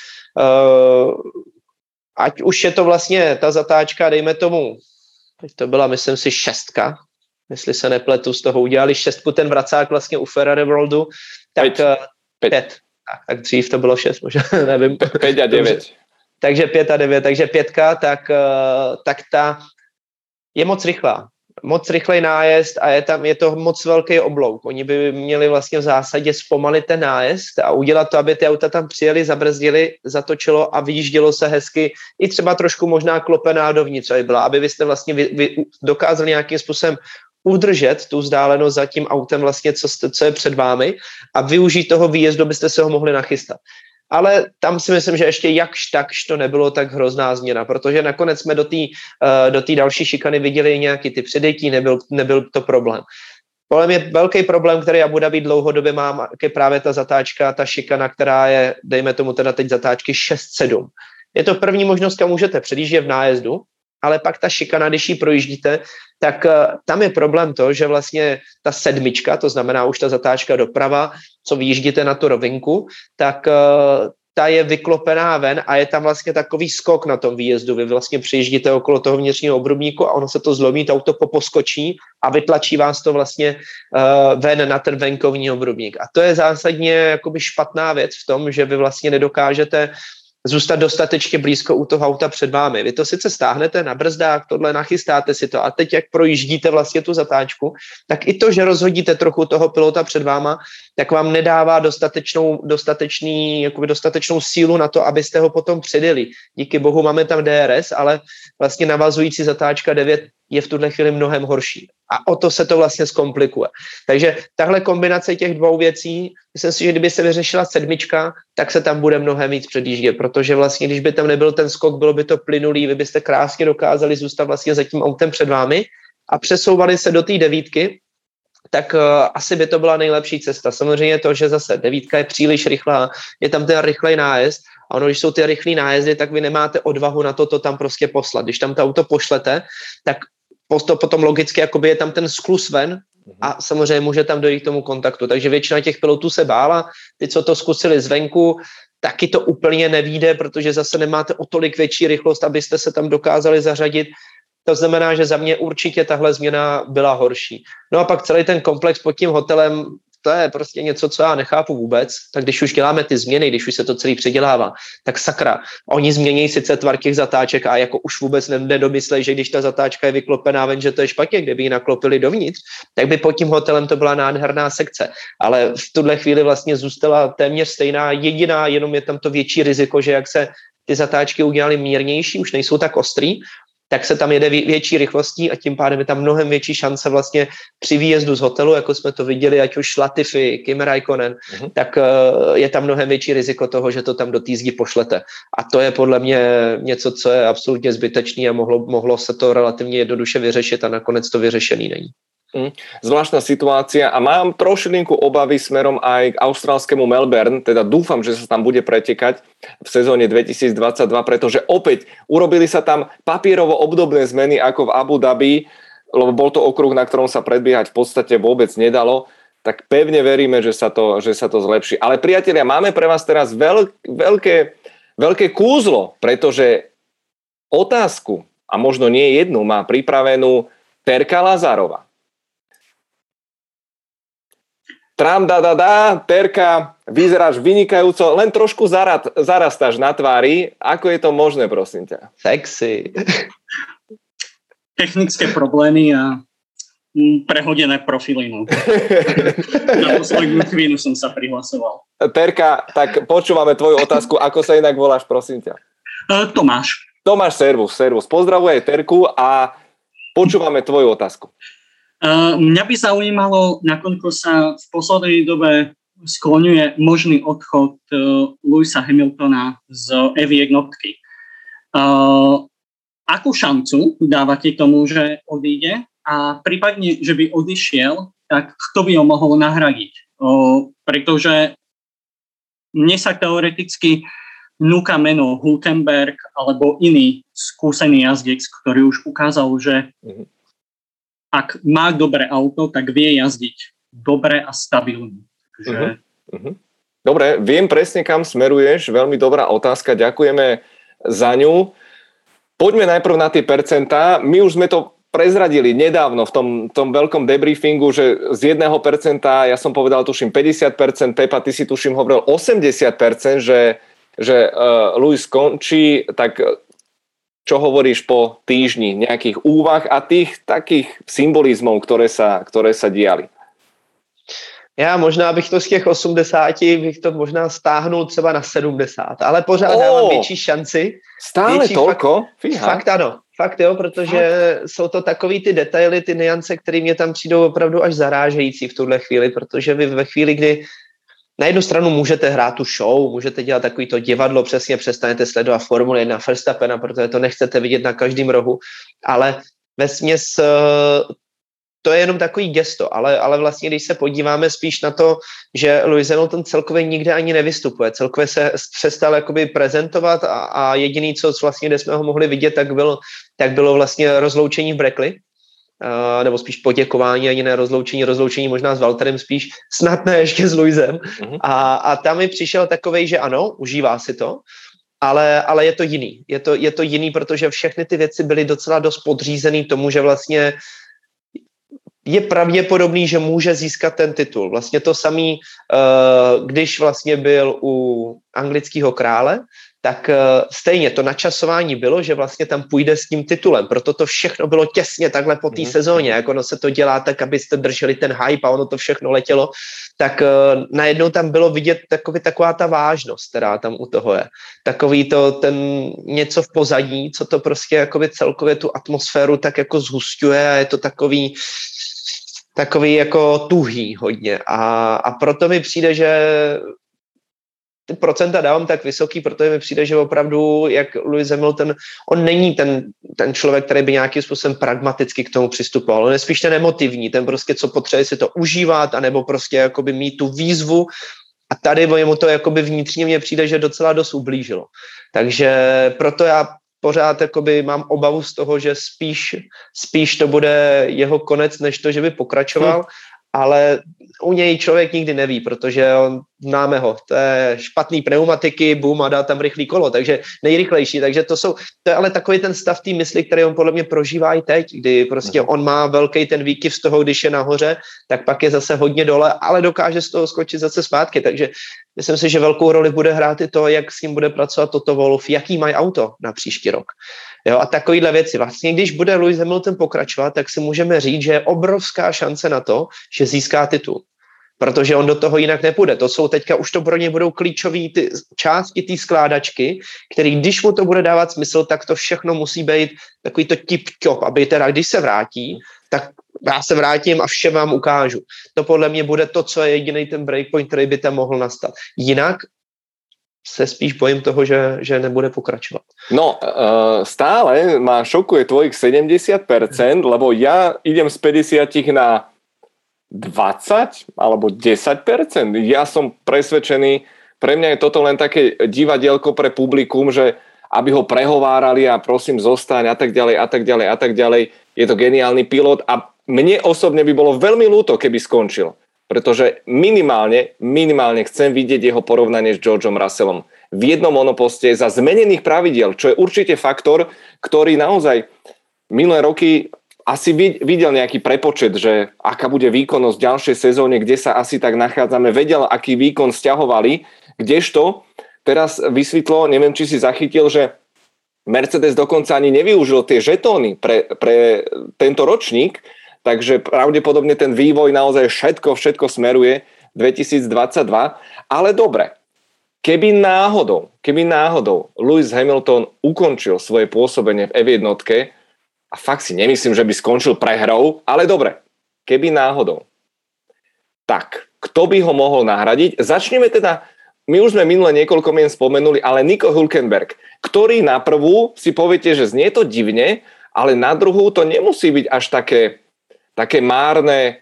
Speaker 2: ať už je to vlastně ta zatáčka, dejme tomu, teď to byla, myslím si, 6, jestli se nepletu, z toho udělali 6, ten vracák vlastně u Ferrari Worldu, tak 5. Tak dřív to bylo 6, možná, nevím.
Speaker 1: 5 a 9.
Speaker 2: Takže 5 a 9, takže 5, tak ta je moc rychlá. Moc rychlej nájezd a je to moc velký oblouk. Oni by měli vlastně v zásadě zpomalit ten nájezd a udělat to, aby ty auta tam přijeli, zabrzdili, zatočilo a vyjíždělo se hezky i třeba trošku možná klopená dovnitř, aby vy jste vlastně dokázali nějakým způsobem udržet tu vzdálenost za tím autem vlastně, co je před vámi a využít toho výjezdu, byste se ho mohli nachystat. Ale tam si myslím, že ještě jakž takž to nebylo tak hrozná změna, protože nakonec jsme do té další šikany viděli nějaký ty předjetí, nebyl to problém. Podle mě velký problém, který Abu Dhabi dlouhodobě mám, je právě ta zatáčka, ta šikana, která je, dejme tomu teda teď zatáčky 6-7. Je to první možnost, kam můžete předjíždět v nájezdu, ale pak ta šikana, když ji projíždíte, tak tam je problém to, že vlastně ta 7, to znamená už ta zatáčka doprava, co vyjíždíte na tu rovinku, tak ta je vyklopená ven a je tam vlastně takový skok na tom výjezdu. Vy vlastně přijíždíte okolo toho vnitřního obrubníku a ono se to zlomí, to auto poposkočí a vytlačí vás to vlastně ven na ten venkovní obrubník. A to je zásadně jakoby špatná věc v tom, že vy vlastně nedokážete zůstat dostatečně blízko u toho auta před vámi. Vy to sice stáhnete na brzdách, tohle nachystáte si to a teď, jak projíždíte vlastně tu zatáčku, tak i to, že rozhodíte trochu toho pilota před váma, tak vám nedává dostatečnou sílu na to, abyste ho potom předjeli. Díky bohu máme tam DRS, ale vlastně navazující zatáčka 9 je v tuhle chvíli mnohem horší. A o to se to vlastně zkomplikuje. Takže tahle kombinace těch dvou věcí, myslím si, že kdyby se vyřešila 7, tak se tam bude mnohem víc předjíždět, protože vlastně, když by tam nebyl ten skok, bylo by to plynulý, vy byste krásně dokázali zůstat vlastně za tím autem před vámi a přesouvali se do té 9, tak asi by to byla nejlepší cesta. Samozřejmě to, že zase 9 je příliš rychlá, je tam ten rychlej nájezd a ono, když jsou ty rychlý nájezdy, tak vy nemáte odvahu na to tam prostě poslat. Když tam to auto pošlete, tak potom logicky jakoby je tam ten skluz ven a samozřejmě může tam dojít k tomu kontaktu. Takže většina těch pilotů se bála, ty, co to zkusili zvenku, taky to úplně nevíde, protože zase nemáte o tolik větší rychlost, abyste se tam dokázali zařadit. To znamená, že za mě určitě tahle změna byla horší. No a pak celý ten komplex pod tím hotelem, to je prostě něco, co já nechápu vůbec. Tak když už děláme ty změny, když už se to celý předělává, tak sakra, oni změní sice tvar těch zatáček a jako už vůbec nedomyslej, že když ta zatáčka je vyklopená ven, že to je špatně, kdyby ji naklopili dovnitř, tak by pod tím hotelem to byla nádherná sekce. Ale v tuhle chvíli vlastně zůstala téměř stejná, jediná, jenom je tam to větší riziko, že jak se ty zatáčky udělaly mírnější, už nejsou tak ostrý, tak se tam jede větší rychlostí a tím pádem je tam mnohem větší šance vlastně při výjezdu z hotelu, jako jsme to viděli, ať už Latifi, Kimi Räikkönen, tak je tam mnohem větší riziko toho, že to tam do té zdi pošlete. A to je podle mě něco, co je absolutně zbytečný a mohlo se to relativně jednoduše vyřešit a nakonec to vyřešený není.
Speaker 1: Zvláštna situácia a mám trošilinku obavy smerom aj k austrálskému Melbourne, teda dúfam, že sa tam bude pretekať v sezóne 2022, pretože opäť urobili sa tam papierovo obdobné zmeny ako v Abu Dhabi, lebo bol to okruh, na ktorom sa predbiehať v podstate vôbec nedalo, tak pevne veríme, že sa to zlepší. Ale priatelia, máme pre vás teraz veľké kúzlo, pretože otázku, a možno nie jednu, má pripravenú Terka Lazarova. Terka, vyzeráš vynikajúco, len trošku zarastáš na tvári. Ako je to možné, prosím ťa?
Speaker 2: Sexy.
Speaker 5: Technické problémy a prehodené profily. No. Na poslednú chvíľu som sa prihlasoval.
Speaker 1: Terka, tak počúvame tvoju otázku. Ako sa inak voláš, prosím ťa?
Speaker 5: Tomáš.
Speaker 1: Tomáš, servus. Pozdravuj aj Terku a počúvame tvoju otázku.
Speaker 5: Mňa by zaujímalo, nakoľko sa v poslednej dobe skloňuje možný odchod Lewisa Hamiltona z F1 jednotky. Akú šancu dávate tomu, že odíde? A prípadne, že by odišiel, tak kto by ho mohol nahradiť? Pretože mne sa teoreticky núka meno Hülkenberg alebo iný skúsený jazdec, ktorý už ukázal, že ak má dobré auto, tak vie jazdiť dobre a stabilne. Takže...
Speaker 1: Dobre, viem presne, kam smeruješ. Veľmi dobrá otázka, ďakujeme za ňu. Poďme najprv na tie percentá. My už sme to prezradili nedávno v tom veľkom debriefingu, že z 1%, ja som povedal tuším 50%, Pepa, ty si tuším hovoril 80%, že Lewis skončí, tak čo hovoríš po týždni nejakých úvah a tých takých symbolizmov, ktoré sa diali?
Speaker 2: Já možná bych to z těch 80 bych to možná stáhnul třeba na 70, ale pořád dávám větší šanci.
Speaker 1: Stále toľko?
Speaker 2: Fakt ano, fakt jo, protože jsou to takový ty detaily, ty nuance, které mě tam přijdou opravdu až zarážející v tuhle chvíli, protože vy ve chvíli, kdy na jednu stranu můžete hrát tu show, můžete dělat takový to divadlo, přesně přestanete sledovat Formule 1 Verstappena, protože to nechcete vidět na každém rohu, ale vesměs to je jenom takový gesto, ale vlastně když se podíváme spíš na to, že Lewis Hamilton celkově nikde ani nevystupuje, celkově se přestal jakoby prezentovat a jediný, co vlastně, kde jsme ho mohli vidět, tak bylo vlastně rozloučení v Brackley, nebo spíš poděkování, ani ne rozloučení možná s Valtterem spíš, snad ne ještě s Lewisem. A tam mi přišel takovej, že ano, užívá si to, ale je to jiný. Je to jiný, protože všechny ty věci byly docela dost podřízený tomu, že vlastně je pravděpodobný, že může získat ten titul. Vlastně to samý, když vlastně byl u anglického krále, tak stejně to načasování bylo, že vlastně tam půjde s tím titulem. Proto to všechno bylo těsně takhle po té sezóně. Jak ono se to dělá tak, abyste drželi ten hype a ono to všechno letělo, tak najednou tam bylo vidět taková ta vážnost, která tam u toho je. Takový to, ten něco v pozadí, co to prostě jakoby celkově tu atmosféru tak jako zhusťuje a je to takový jako tuhý hodně. A proto mi přijde, že ty procenta dávám tak vysoký, protože mi přijde, že opravdu, jak Lewis Hamilton, on není ten člověk, který by nějakým způsobem pragmaticky k tomu přistupoval. On je spíš ten emotivní, ten prostě, co potřebuje si to užívat, anebo prostě jakoby mít tu výzvu. A tady mu to jakoby vnitřně mně přijde, že docela dost ublížilo. Takže proto já pořád jakoby mám obavu z toho, že spíš to bude jeho konec, než to, že by pokračoval. Ale u něj člověk nikdy neví, protože známe ho, to je špatný pneumatiky, boom a dá tam rychlý kolo, takže nejrychlejší, takže to je ale takový ten stav té mysli, který on podle mě prožívá i teď, kdy prostě on má velký ten výkyv z toho, když je nahoře, tak pak je zase hodně dole, ale dokáže z toho skočit zase zpátky, takže myslím si, že velkou roli bude hrát i to, jak s ním bude pracovat Toto Wolff, jaký mají auto na příští rok. Jo, a takovýhle věci. Vlastně, když bude Lewis Hamilton pokračovat, tak si můžeme říct, že je obrovská šance na to, že získá titul. protože on do toho jinak nepůjde. To jsou teďka, už to pro ně budou klíčové ty části té skládačky, který, když mu to bude dávat smysl, tak to všechno musí být takový to tip-top, aby teda, když se vrátí, tak já se vrátím a vše vám ukážu. To podle mě bude to, co je jediný ten breakpoint, který by tam mohl nastat. Jinak se spíš bojím toho, že nebude pokračovat.
Speaker 1: No, stále ma šokuje tvojich 70%, lebo ja idem z 50 na 20 alebo 10%. Ja som presvedčený, pre mňa je toto len také divadielko pre publikum, že aby ho prehovárali a prosím zostaň a tak ďalej a tak ďalej a tak ďalej. Je to geniálny pilot a mne osobne by bolo veľmi ľúto, keby skončil. Pretože minimálne chcem vidieť jeho porovnanie s Georgeom Russellom v jednom monoposte za zmenených pravidiel, čo je určite faktor, ktorý naozaj minulé roky asi videl nejaký prepočet, že aká bude výkonnosť v ďalšej sezóne, kde sa asi tak nachádzame, vedel, aký výkon sťahovali, kdežto teraz vysvetlo, neviem, či si zachytil, že Mercedes dokonca ani nevyužil tie žetóny pre tento ročník, takže pravdepodobne ten vývoj naozaj všetko smeruje 2022. Ale dobre, keby náhodou Lewis Hamilton ukončil svoje pôsobenie v F1, a fakt si nemyslím, že by skončil prehrou, ale dobre, keby náhodou, tak kto by ho mohol nahradiť? Začneme teda, my už sme minule niekoľko mien spomenuli, ale Nico Hülkenberg, ktorý na prvú si poviete, že znie to divne, ale na druhú to nemusí byť až také márne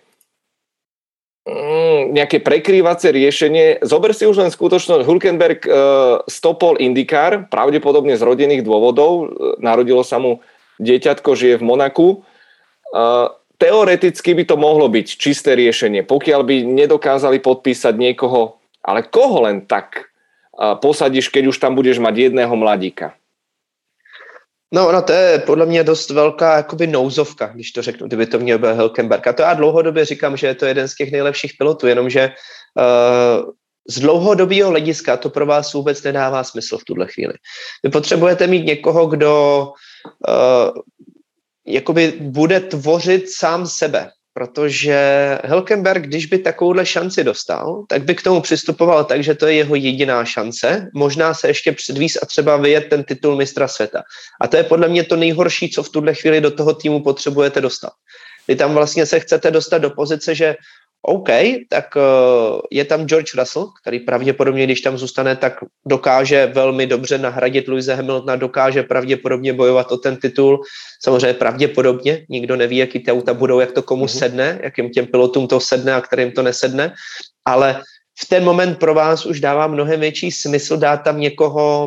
Speaker 1: nejaké prekrývacie riešenie. Zober si už len skutočnosť, Hülkenberg stopol IndyCar, pravdepodobne z rodinných dôvodov, narodilo sa mu dieťatko, žije v Monaku. Teoreticky by to mohlo byť čisté riešenie, pokiaľ by nedokázali podpísať niekoho, ale koho len tak posadíš, keď už tam budeš mať jedného mladíka?
Speaker 2: No, to je podle mě dost velká jakoby nouzovka, když to řeknu, kdyby to měl byl Hülkenberg. A to já dlouhodobě říkám, že je to jeden z těch nejlepších pilotů, jenomže z dlouhodobého hlediska to pro vás vůbec nedává smysl v tuhle chvíli. Vy potřebujete mít někoho, kdo jakoby bude tvořit sám sebe, protože Hülkenberg, když by takovouhle šanci dostal, tak by k tomu přistupoval tak, že to je jeho jediná šance, možná se ještě předvíz a třeba vyjet ten titul mistra světa. A to je podle mě to nejhorší, co v tuhle chvíli do toho týmu potřebujete dostat. Vy tam vlastně se chcete dostat do pozice, že OK, tak je tam George Russell, který pravděpodobně, když tam zůstane, tak dokáže velmi dobře nahradit Lewise Hamiltona, dokáže pravděpodobně bojovat o ten titul. Samozřejmě pravděpodobně, nikdo neví, jaký ty auta budou, jak to komu sedne, jakým těm pilotům to sedne a kterým to nesedne, ale v ten moment pro vás už dává mnohem větší smysl dát tam někoho,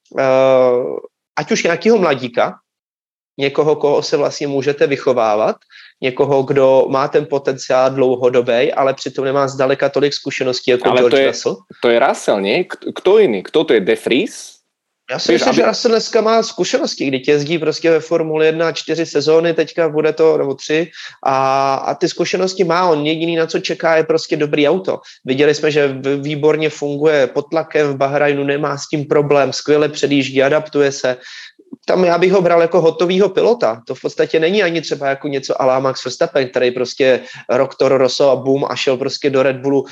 Speaker 2: ať už nějakého mladíka, někoho, koho se vlastně můžete vychovávat, někoho, kdo má ten potenciál dlouhodobý, ale přitom nemá zdaleka tolik zkušeností jako George Russell.
Speaker 1: To je Russell, nie? Kto jiný? Kto to je? De Vries?
Speaker 2: Já si myslím, že Russell dneska má zkušenosti, kdy jezdí prostě ve Formule 1 4 sezóny, teďka bude to, nebo 3, a ty zkušenosti má. On jediný, na co čeká, je prostě dobrý auto. Viděli jsme, že výborně funguje pod tlakem v Bahrajnu, nemá s tím problém, skvěle předjíždí, adaptuje se. Tam já bych ho bral jako hotovýho pilota. To v podstatě není ani třeba jako něco à la Max Verstappen, který prostě rok Toro Rosso a boom a šel prostě do Red Bullu.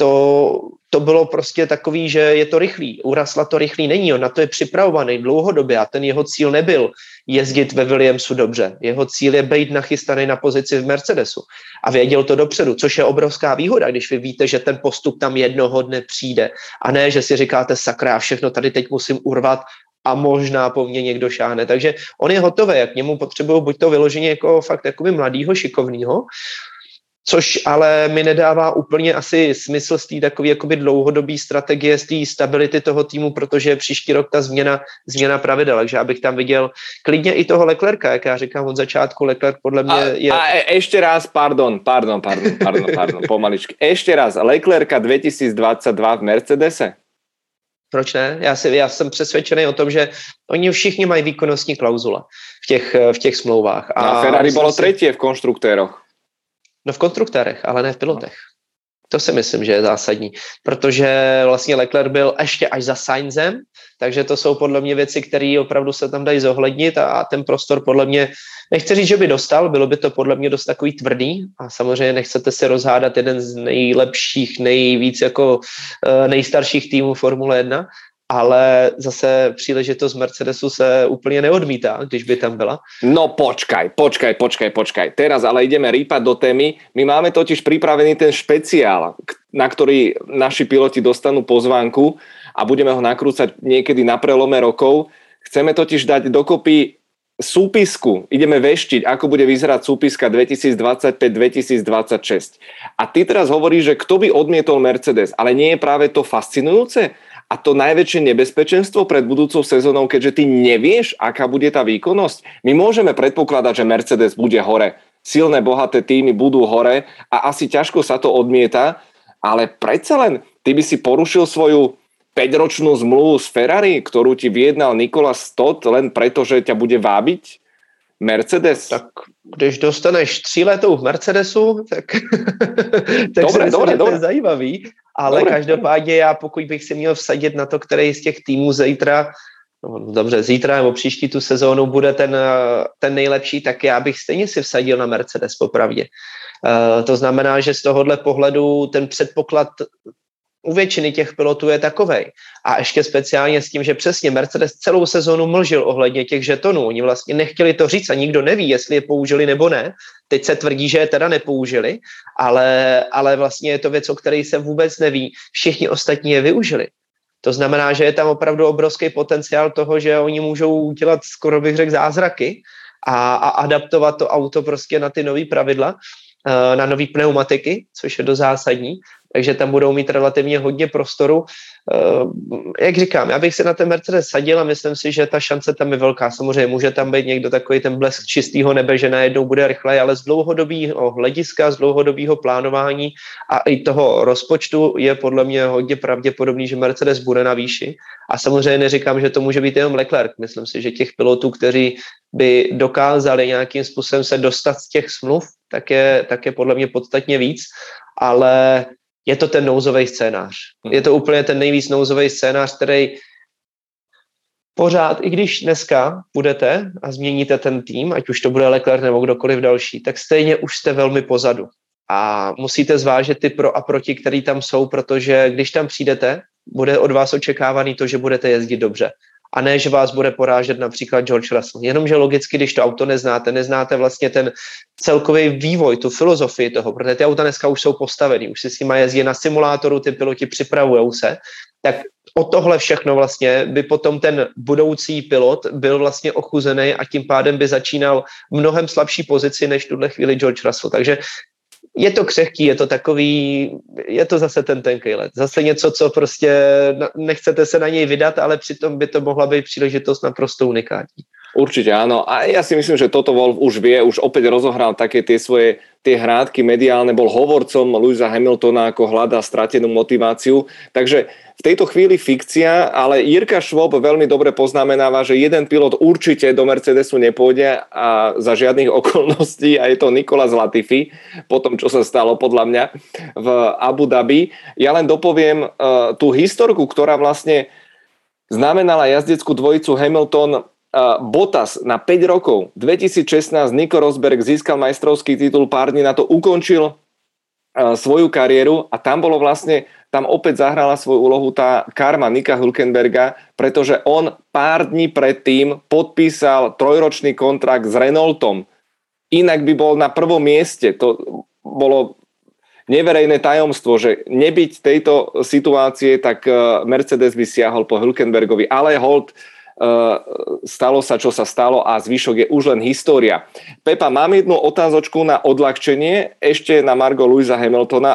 Speaker 2: To bylo prostě takový, že je to rychlý. U Russella to rychlý není, on na to je připravovaný dlouhodobě a ten jeho cíl nebyl jezdit ve Williamsu dobře. Jeho cíl je být nachystaný na pozici v Mercedesu a věděl to dopředu, což je obrovská výhoda, když vy víte, že ten postup tam jednoho dne přijde a ne, že si říkáte sakra, já všechno tady teď musím urvat a možná po mně někdo šáhne. Takže on je hotový, jak k němu potřebují buď to vyloženě jako fakt jakoby mladýho, šikovnýho, což ale mi nedává úplně asi smysl z té takové jakoby dlouhodobé strategie, z té stability toho týmu, protože příští rok ta změna pravidel, takže já bych tam viděl klidně i toho Leclerca, jak já říkám od začátku, Leclerc podle mě je...
Speaker 1: A ešte raz, pardon, pomaličky. Ešte raz, Leclerca 2022 v Mercedese?
Speaker 2: Proč ne? Já jsem přesvědčený o tom, že oni všichni mají výkonnostní klauzule v těch smlouvách.
Speaker 1: A Ferrari bylo třetí v konštruktéroch.
Speaker 2: No v konstruktérech, ale ne v pilotech. To si myslím, že je zásadní, protože vlastně Leclerc byl ještě až za Sainzem, takže to jsou podle mě věci, které opravdu se tam dají zohlednit a ten prostor podle mě, nechci říct, že by dostal, bylo by to podle mě dost takový tvrdý a samozřejmě nechcete si rozhádat jeden z nejlepších, nejvíc jako nejstarších týmů Formule 1, ale zase příležitost Mercedesu se úplně neodmítá, když by tam byla.
Speaker 1: No počkaj. Teraz ale ideme rýpať do témy. My máme totiž pripravený ten špeciál, na ktorý naši piloti dostanú pozvánku a budeme ho nakrúcať niekedy na prelome rokov. Chceme totiž dať dokopy súpisku. Ideme veštiť, ako bude vyzerať súpiska 2025-2026. A ty teraz hovoríš, že kto by odmietol Mercedes, ale nie je práve to fascinujúce? A to najväčšie nebezpečenstvo pred budúcou sezónou, keďže ty nevieš, aká bude tá výkonnosť. My môžeme predpokladať, že Mercedes bude hore. Silné, bohaté týmy budú hore a asi ťažko sa to odmieta, ale predsa len ty by si porušil svoju 5-ročnú zmluvu s Ferrari, ktorú ti vyjednal Nicolas Stott len preto, že ťa bude vábiť Mercedes?
Speaker 2: Tak když dostaneš 3letou v Mercedesu, tak
Speaker 1: dobre.
Speaker 2: to je zajímavý. Ale každopádně já, pokud bych si měl vsadit na to, který z těch týmů zítra nebo příští tu sezónu bude ten nejlepší, tak já bych stejně si vsadil na Mercedes popravdě. To znamená, že z tohohle pohledu ten předpoklad u většiny těch pilotů je takovej. A ještě speciálně s tím, že přesně Mercedes celou sezónu mlžil ohledně těch žetonů. Oni vlastně nechtěli to říct a nikdo neví, jestli je použili nebo ne. Teď se tvrdí, že je teda nepoužili, ale vlastně je to věc, o které se vůbec neví. Všichni ostatní je využili. To znamená, že je tam opravdu obrovský potenciál toho, že oni můžou dělat, skoro bych řekl, zázraky a adaptovat to auto prostě na ty nový pravidla, na nový pneumatiky, což je dost zásadní. Takže tam budou mít relativně hodně prostoru. Jak říkám, já bych se na ten Mercedes sadil a myslím si, že ta šance tam je velká. Samozřejmě může tam být někdo takový ten blesk čistého nebe, že najednou bude rychlej, ale z dlouhodobého hlediska, z dlouhodobého plánování a i toho rozpočtu je podle mě hodně pravděpodobný, že Mercedes bude na výši. A samozřejmě neříkám, že to může být jenom Leclerc. Myslím si, že těch pilotů, kteří by dokázali nějakým způsobem se dostat z těch smluv, tak je podle mě podstatně víc, ale je to ten nouzový scénář. Je to úplně ten nejvíc nouzový scénář, který pořád, i když dneska budete a změníte ten tým, ať už to bude Leclerc nebo kdokoliv další, tak stejně už jste velmi pozadu. A musíte zvážit ty pro a proti, který tam jsou, protože když tam přijdete, bude od vás očekávaný to, že budete jezdit dobře. A ne, že vás bude porážet například George Russell. Jenomže logicky, když to auto neznáte vlastně ten celkový vývoj, tu filozofii toho, protože ty auta dneska už jsou postavený, už si s nima jezdí na simulátoru, ty piloti připravujou se, tak o tohle všechno vlastně by potom ten budoucí pilot byl vlastně ochuzený a tím pádem by začínal v mnohem slabší pozici než v tuhle chvíli George Russell. Takže je to křehký, je to takový, je to zase ten tenkej let. Zase něco, co prostě nechcete se na něj vydat, ale přitom by to mohla být příležitost naprosto unikátní.
Speaker 1: Určite áno. A ja si myslím, že Toto Wolff už vie, už opäť rozohral také tie hrádky mediálne, bol hovorcom Lewisa Hamiltona, ako hľadá stratenú motiváciu. Takže v tejto chvíli fikcia, ale Jirka Švob veľmi dobre poznamenáva, že jeden pilot určite do Mercedesu nepôjde a za žiadnych okolností a je to Nicolas Latifi, po tom, čo sa stalo podľa mňa v Abu Dhabi. Ja len dopoviem tú historku, ktorá vlastne znamenala jazdeckú dvojicu Hamilton Bottas na 5 rokov. 2016 Nico Rosberg získal majstrovský titul, pár dní na to ukončil svoju kariéru a tam bolo vlastne, tam opäť zahrala svoju úlohu tá karma Nika Hülkenberga, pretože on pár dní predtým podpísal 3-ročný kontrakt s Renaultom. Inak by bol na prvom mieste. To bolo neverejné tajomstvo, že nebyť tejto situácie, tak Mercedes by siahol po Hülkenbergovi, ale hold, stalo sa, čo sa stalo a zvyšok je už len história. Pepa, mám jednu otázočku na odľahčenie, ešte na margo Lewisa Hamiltona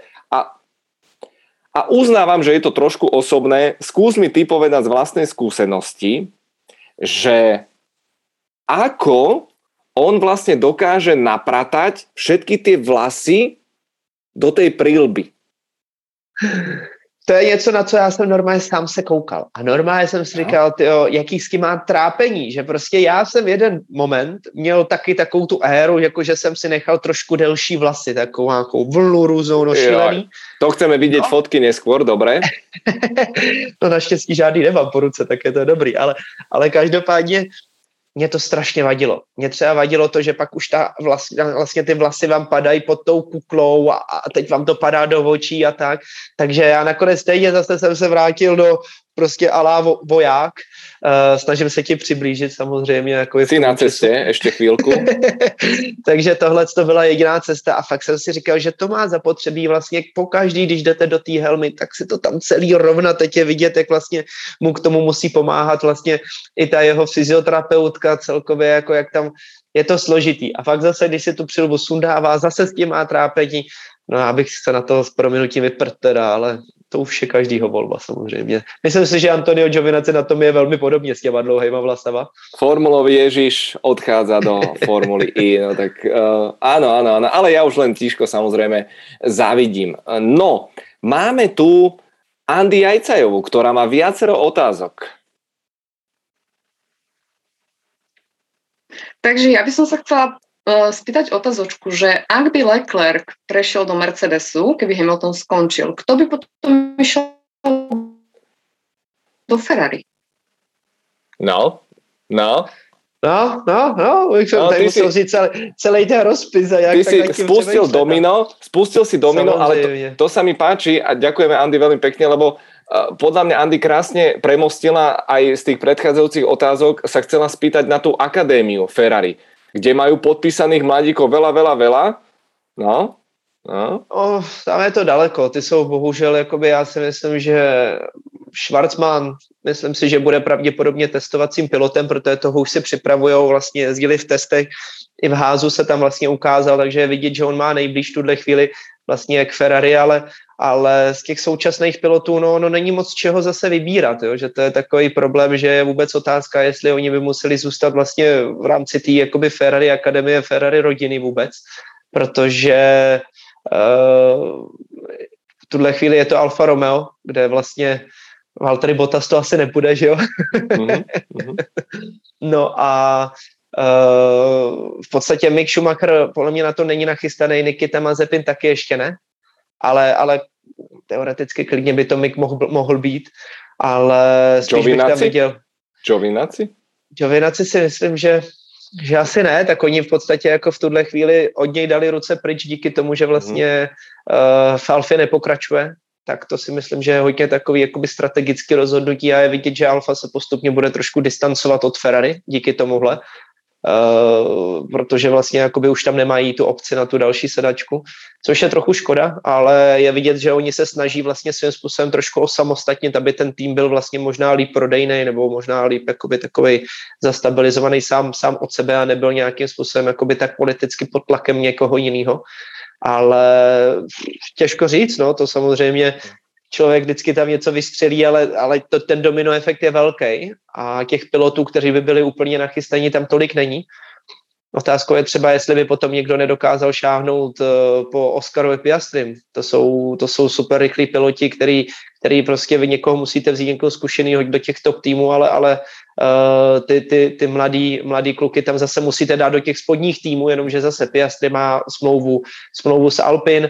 Speaker 1: a uznávam, že je to trošku osobné. Skús mi ty povedať z vlastnej skúsenosti, že ako on vlastne dokáže napratať všetky tie vlasy do tej príľby.
Speaker 2: to je něco, na co já jsem normálně sám se koukal. A normálně jsem si říkal, tyjo, jaký s tím má trápení, že prostě já jsem jeden moment měl taky takovou tu éru, jakože jsem si nechal trošku delší vlasy, takovou nějakou vlnu různou nošilený.
Speaker 1: To chceme vidět fotky neskôr, dobré?
Speaker 2: No naštěstí žádný nemám po ruce, tak je to dobrý, ale každopádně mě to strašně vadilo. Mě třeba vadilo to, že pak už vlastně ty vlasy vám padají pod tou kuklou a teď vám to padá do očí a tak. Takže já nakonec stejně zase jsem se vrátil do prostě alá voják. Snažím se ti přiblížit samozřejmě. Jako
Speaker 1: jsi na cestě, ještě chvílku.
Speaker 2: Takže tohle to byla jediná cesta a fakt jsem si říkal, že to má zapotřebí vlastně pokaždý, když jdete do té helmy, tak si to tam celý rovna teď je vidět, jak vlastně mu k tomu musí pomáhat vlastně i ta jeho fyzioterapeutka celkově, jako jak tam je to složitý. A fakt zase, když si tu přilbu sundává, zase s tím má trápení, no já bych se na to s prominutím vyprt teda, ale to už je každýho volba samozřejmě. Myslím si, že Antonio Giovinazzi na tom je velmi podobně s těma dlouhejma vlasama.
Speaker 1: Formulový Ježiš odchádza do Formuly I, no tak áno, ale ja už len tížko samozrejme závidím. No, máme tu Andy Jajcajovú, ktorá má viacero otázok.
Speaker 6: Takže ja by som sa chcela spýtať otázočku, že ak by Leclerc prešiel do Mercedesu, keby Hamilton skončil, kto by potom išiel do Ferrari?
Speaker 2: No, tak musel si celý ten rozpis.
Speaker 1: Ty si spustil si domino, ale to sa mi páči a ďakujeme Andy veľmi pekne, lebo podľa mňa Andy krásne premostila aj z tých predchádzajúcich otázok, sa chcela spýtať na tú akadémiu Ferrari, kde majú podpísaných mladíkov veľa. No.
Speaker 2: Tam je to daleko. Ty jsou bohužel, jakoby já si myslím, že Schwarzman, myslím si, že bude pravděpodobně testovacím pilotem, protože toho už si připravujou, vlastně jezdili v testech, i v házu se tam vlastně ukázal, takže je vidět, že on má nejblíž tuhle chvíli vlastně k Ferrari, ale z těch současných pilotů, no není moc čeho zase vybírat, jo? Že to je takový problém, že je vůbec otázka, jestli oni by museli zůstat vlastně v rámci té jakoby Ferrari akademie, Ferrari rodiny vůbec, protože v tuhle chvíli je to Alfa Romeo, kde vlastně Valtteri Bottas to asi nepůjde, že jo? No a v podstatě Mick Schumacher podle mě na to není nachystaný, Nikita Mazepin taky ještě ne, ale teoreticky klidně by to Mick mohl být, ale spíš bych tam viděl... Giovinazzi si myslím, že asi ne, tak oni v podstatě jako v tuhle chvíli od něj dali ruce pryč díky tomu, že vlastně v Alfě nepokračuje, tak to si myslím, že je hodně takový jakoby strategický rozhodnutí a je vidět, že Alfa se postupně bude trošku distancovat od Ferrari díky tomuhle, protože vlastně jakoby už tam nemají tu opci na tu další sedačku, což je trochu škoda, ale je vidět, že oni se snaží vlastně svým způsobem trošku osamostatnit, aby ten tým byl vlastně možná líp prodejnej nebo možná líp jakoby takovej zastabilizovaný sám od sebe a nebyl nějakým způsobem jakoby tak politicky pod tlakem někoho jiného. Ale těžko říct, no, to samozřejmě člověk vždycky tam něco vystřelí, ale ten domino efekt je velký a těch pilotů, kteří by byli úplně nachystaní, tam tolik není. Otázkou je třeba, jestli by potom někdo nedokázal šáhnout po Oscarovi Piastrim. To jsou super rychlí piloti, který prostě vy někoho musíte vzít někoho zkušenýho do těch top týmů, ale ty mladý kluky tam zase musíte dát do těch spodních týmů, jenomže zase Piastri má smlouvu s Alpine,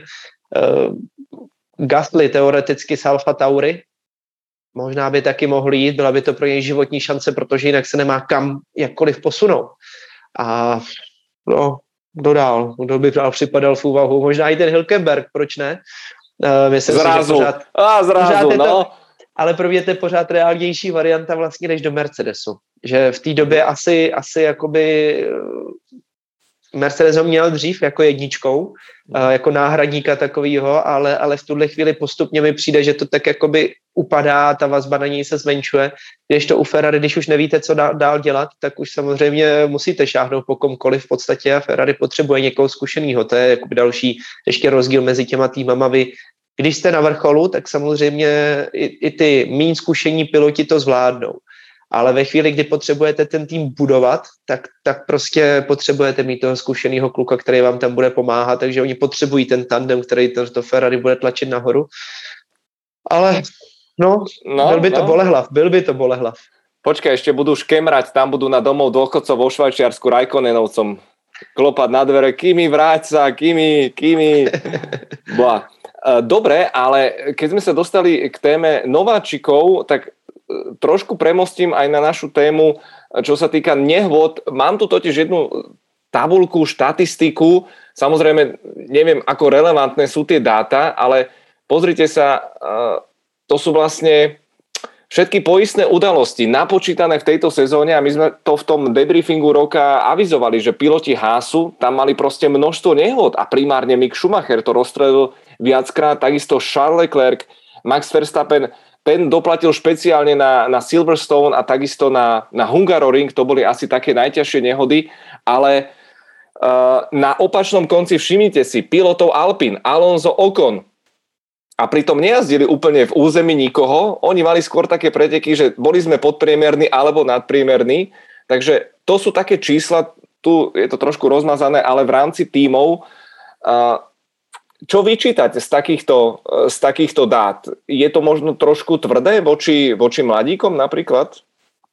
Speaker 2: Gasly teoreticky s Alfa Tauri, možná by taky mohl jít, byla by to pro něj životní šance, protože jinak se nemá kam jakkoliv posunout. A no, kdo by připadal v úvahu? Možná i ten Hülkenberg, proč ne? Myslím
Speaker 1: zrazu.
Speaker 2: Si, že
Speaker 1: pořád no.
Speaker 2: Ale pro mě to je pořád reálnější varianta vlastně než do Mercedesu. Že v té době asi jakoby Mercedes ho měl dřív jako jedničkou, jako náhradníka takovýho, ale v tuhle chvíli postupně mi přijde, že to tak jakoby upadá, ta vazba na něj se zmenšuje. Když to u Ferrari, když už nevíte, co dál dělat, tak už samozřejmě musíte šáhnout po komkoliv v podstatě a Ferrari potřebuje někoho zkušenýho. To je jakoby další ještě rozdíl mezi těma týmama. Vy, když jste na vrcholu, tak samozřejmě i ty méně zkušení piloti to zvládnou. Ale ve chvíli, kdy potřebujete ten tým budovat, tak prostě potřebujete mít toho zkušeného kluka, který vám tam bude pomáhat, takže oni potřebují ten tandem, který to Ferrari bude tlačit nahoru. Ale byl by to bolehlav.
Speaker 1: Počkaj, ešte budú škemrať, tam budú na domov dôchodcov vo Švajčiarsku Raikkonenovcom klopať na dvere, Kimi, vráť sa, Kimi. Dobre, ale keď sme sa dostali k téme nováčikov, tak trošku premostím aj na našu tému, čo sa týka nehôd. Mám tu totiž jednu tabuľku, štatistiku. Samozrejme, neviem, ako relevantné sú tie dáta, ale pozrite sa, to sú vlastne všetky poistné udalosti napočítané v tejto sezóne a my sme to v tom debriefingu roka avizovali, že piloti Haasu tam mali proste množstvo nehôd a primárne Mick Schumacher to rozstrelil viackrát, takisto Charles Leclerc, Max Verstappen, ten doplatil špeciálne na Silverstone a takisto na Hungaroring, to boli asi také najťažšie nehody, ale na opačnom konci všimnite si pilotov Alpine, Alonso, Ocon, a pritom nejazdili úplne v území nikoho, oni mali skôr také preteky, že boli sme podpriemerní alebo nadpriemerní, takže to sú také čísla, tu je to trošku rozmazané, ale v rámci tímov, čo vyčítať z takýchto dát? Je to možno trošku tvrdé voči mladíkom napríklad?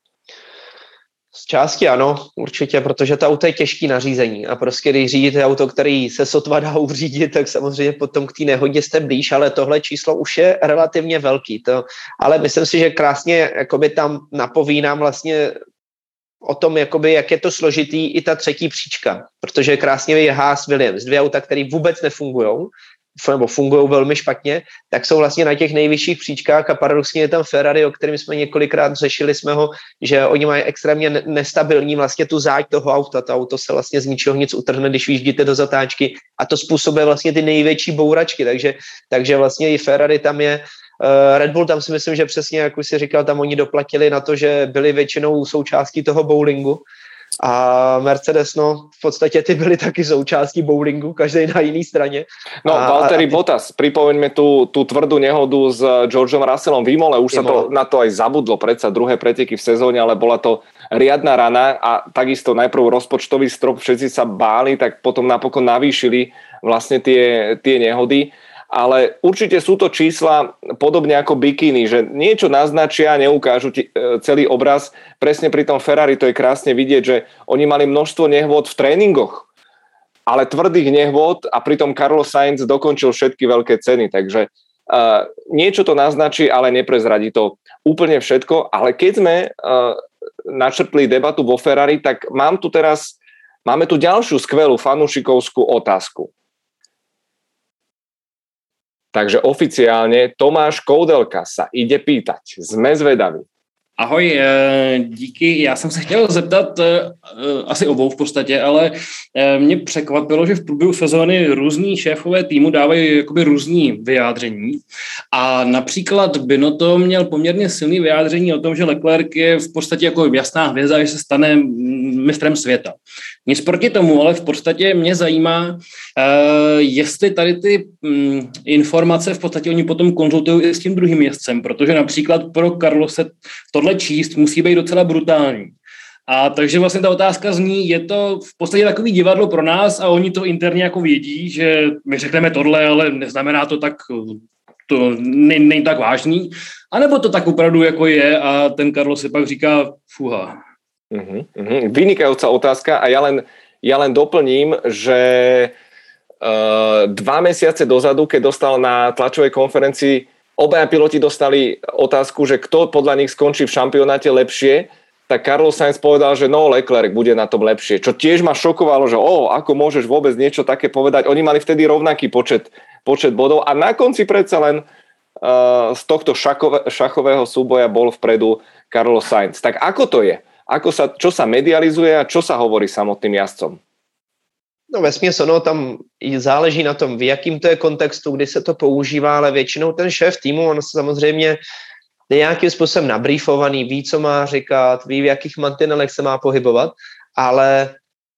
Speaker 2: Z části ano, určitě, protože to auto je těžký nařízení a prostě když řídíte auto, který se sotva dá uřídit, tak samozřejmě potom k té nehodě jste blíž, ale tohle číslo už je relativně velký. Ale myslím si, že krásně jakoby tam napoví nám vlastně o tom, jakoby, jak je to složitý i ta třetí příčka, protože krásně je Haas Williams, dvě auta, které vůbec nefungujou, nebo fungují velmi špatně, tak jsou vlastně na těch nejvyšších příčkách a paradoxně je tam Ferrari, o kterém jsme několikrát řešili jsme ho, že oni mají extrémně nestabilní vlastně tu záď toho auta. To auto se vlastně z ničeho nic utrhne, když vyjíždíte do zatáčky a to způsobuje vlastně ty největší bouračky, takže vlastně i Ferrari tam je. Red Bull tam si myslím, že přesně, jak už si říkal, tam oni doplatili na to, že byli většinou součástí toho bowlingu. A Mercedes, v podstatě ty byly taky součástí bowlingu, každý na jiný straně.
Speaker 1: Valtteri Bottas, pripomeňme tú tvrdú nehodu s Georgeom Russellom v Imole, už sa to na to aj zabudlo, predsa druhé preteky v sezóne, ale bola to riadna rana a takisto najprv rozpočtový strop, všetci sa báli, tak potom napokon navýšili vlastne tie nehody. Ale určite sú to čísla podobne ako bikiny, že niečo naznačia, neukážu celý obraz. Presne pri tom Ferrari to je krásne vidieť, že oni mali množstvo nehôd v tréningoch, ale tvrdých nehôd a pritom Carlos Sainz dokončil všetky veľké ceny, takže niečo to naznačí, ale neprezradí to úplne všetko. Ale keď sme načrtli debatu vo Ferrari, tak máme tu ďalšiu skvelú fanúšikovskú otázku. Takže oficiálne Tomáš Koudelka sa ide pýtať. Sme zvedaví.
Speaker 7: Ahoj, díky. Já jsem se chtěl zeptat asi obou v podstatě, ale mě překvapilo, že v průběhu sezóny různý šéfové týmu dávají jakoby různý vyjádření a například Binotto měl poměrně silný vyjádření o tom, že Leclerc je v podstatě jako jasná hvězda, že se stane mistrem světa. Nic proti tomu, ale v podstatě mě zajímá, jestli tady ty informace v podstatě oni potom konzultují i s tím druhým jezdcem, protože například pro Carlose tohle číst musí být docela brutální. A takže vlastně ta otázka zní, je to v podstatě takový divadlo pro nás a oni to interně jako vědí, že my řekneme tohle, ale neznamená to tak, to není tak vážný, anebo to tak opravdu jako je a ten Carlos si pak říká fuha.
Speaker 1: Vynikajúca otázka a ja len doplním, že 2 mesiace dozadu, keď dostal na tlačovej konferencii, obaja piloti dostali otázku, že kto podľa nich skončí v šampionáte lepšie, tak Carlos Sainz povedal, že Leclerc bude na tom lepšie. Čo tiež ma šokovalo, že ako môžeš vôbec niečo také povedať. Oni mali vtedy rovnaký počet bodov a na konci predsa len z tohto šachového súboja bol vpredu Carlos Sainz. Tak ako to je? Čo sa medializuje a čo sa hovorí samotným jazdcom?
Speaker 2: No vesměs tam záleží na tom, v jakým to je kontextu, kdy se to používá, ale většinou ten šéf týmu, on samozřejmě je nějakým způsobem nabrýfovaný, ví, co má říkat, ví, v jakých mantinelech se má pohybovat, ale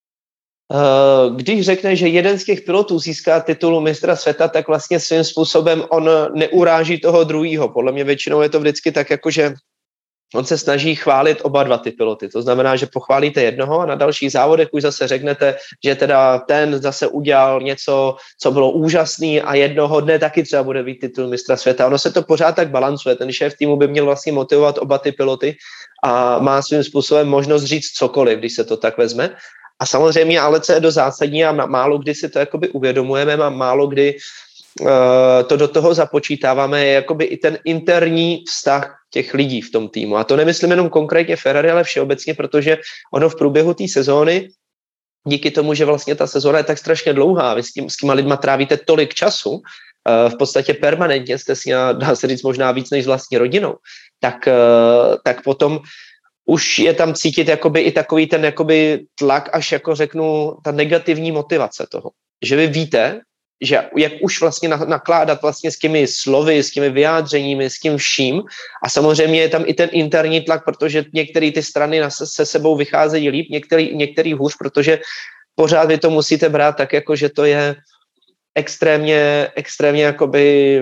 Speaker 2: když řekne, že jeden z těch pilotů získá titulu mistra světa, tak vlastně svým způsobem on neuráží toho druhýho. Podle mě většinou je to vždycky tak, jako že on se snaží chválit oba dva ty piloty. To znamená, že pochválíte jednoho a na dalších závodech už zase řeknete, že teda ten zase udělal něco, co bylo úžasný a jednoho dne taky třeba bude být titul mistra světa. Ono se to pořád tak balancuje. Ten šéf týmu by měl vlastně motivovat oba ty piloty a má svým způsobem možnost říct cokoliv, když se to tak vezme. A samozřejmě, ale co je do zásadní a málo kdy si to jakoby uvědomujeme a málo kdy to do toho započítáváme, je jakoby i ten interní vztah těch lidí v tom týmu. A to nemyslím jenom konkrétně Ferrari, ale všeobecně, protože ono v průběhu té sezóny, díky tomu, že vlastně ta sezóna je tak strašně dlouhá, vy s těma lidma trávíte tolik času, v podstatě permanentně jste si, dá se říct, možná víc než s vlastní rodinou, tak potom už je tam cítit jakoby i takový ten jakoby tlak, až jako řeknu, ta negativní motivace toho. Že vy víte, že jak už vlastně nakládat vlastně s těmi slovy, s těmi vyjádřeními, s tím vším. A samozřejmě je tam i ten interní tlak, protože některé ty strany se sebou vycházejí líp, některý hůř, protože pořád vy to musíte brát tak, jako že to je extrémně jakoby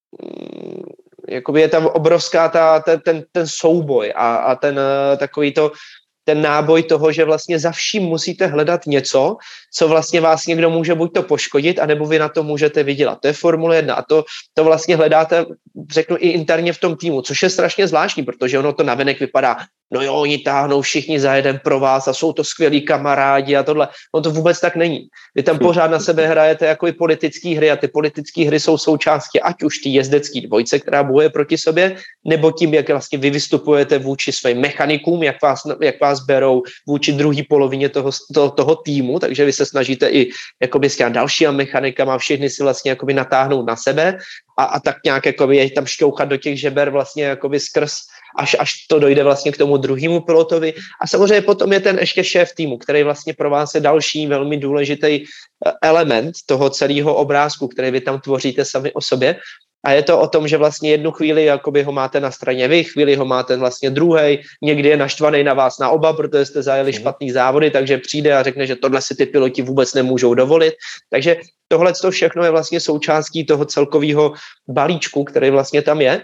Speaker 2: je tam obrovská ten souboj a ten takový to ten náboj toho, že vlastně za vším musíte hledat něco, co vlastně vás někdo může buď to poškodit, anebo vy na to můžete vydělat. To je Formule 1 a to vlastně hledáte, řeknu, i interně v tom týmu, což je strašně zvláštní, protože ono to navenek vypadá, no jo, oni táhnou všichni za jeden pro vás a jsou to skvělí kamarádi a tohle. No to vůbec tak není. Vy tam pořád na sebe hrajete jako i politické hry a ty politické hry jsou součástí ať už ty jezdecké dvojce, která bojuje proti sobě, nebo tím, jak vlastně vy vystupujete vůči svým mechanikům, jak vás berou vůči druhé polovině toho týmu, takže vy se snažíte i jakoby s těmi dalšíma mechanikama všechny si vlastně jakoby natáhnout na sebe a tak nějak jakoby je tam šťouchat do těch žeber vlastně jakoby skrz, až to dojde vlastně k tomu druhému pilotovi. A samozřejmě potom je ten ještě šéf týmu, který vlastně pro vás je další velmi důležitý element toho celého obrázku, který vy tam tvoříte sami o sobě. A je to o tom, že vlastně jednu chvíli jakoby ho máte na straně vy, chvíli ho máte vlastně druhej, někdy je naštvaný na vás na oba, protože jste zajeli špatný závody, takže přijde a řekne, že tohle si ty piloti vůbec nemůžou dovolit. Takže tohle všechno je vlastně součástí toho celkového balíčku, který vlastně tam je.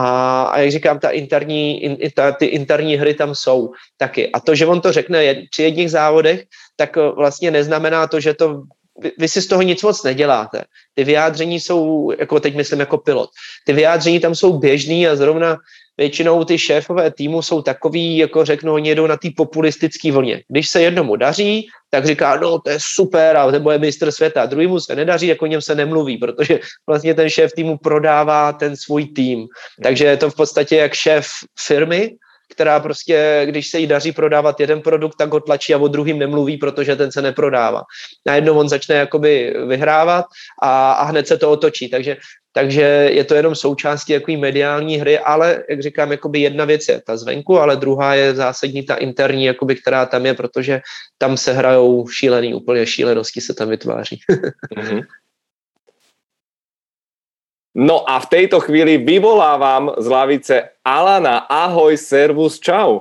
Speaker 2: A jak říkám, ty interní hry tam jsou taky. A to, že on to řekne při jedných závodech, tak vlastně neznamená to, že to vy si z toho nic moc neděláte. Ty vyjádření jsou, jako teď myslím jako pilot, ty vyjádření tam jsou běžný a zrovna většinou ty šéfové týmu jsou takový, jako řeknu, oni jedou na té populistické vlně. Když se jednomu daří, tak říká, no to je super a to je mistr světa. Druhýmu se nedaří, jako o něm se nemluví, protože vlastně ten šéf týmu prodává ten svůj tým. Takže je to v podstatě jak šéf firmy, která prostě, když se jí daří prodávat jeden produkt, tak ho tlačí a o druhým nemluví, protože ten se neprodává. Najednou on začne jakoby vyhrávat a hned se to otočí. Takže je to jenom součástí jaký mediální hry, ale, jak říkám, jakoby jedna věc je ta zvenku, ale druhá je zásadní ta interní, jakoby, která tam je, protože tam se hrajou úplně šílenosti se tam vytváří.
Speaker 1: No a v tejto chvíli vyvolávam z lavice Alana. Ahoj, servus, čau.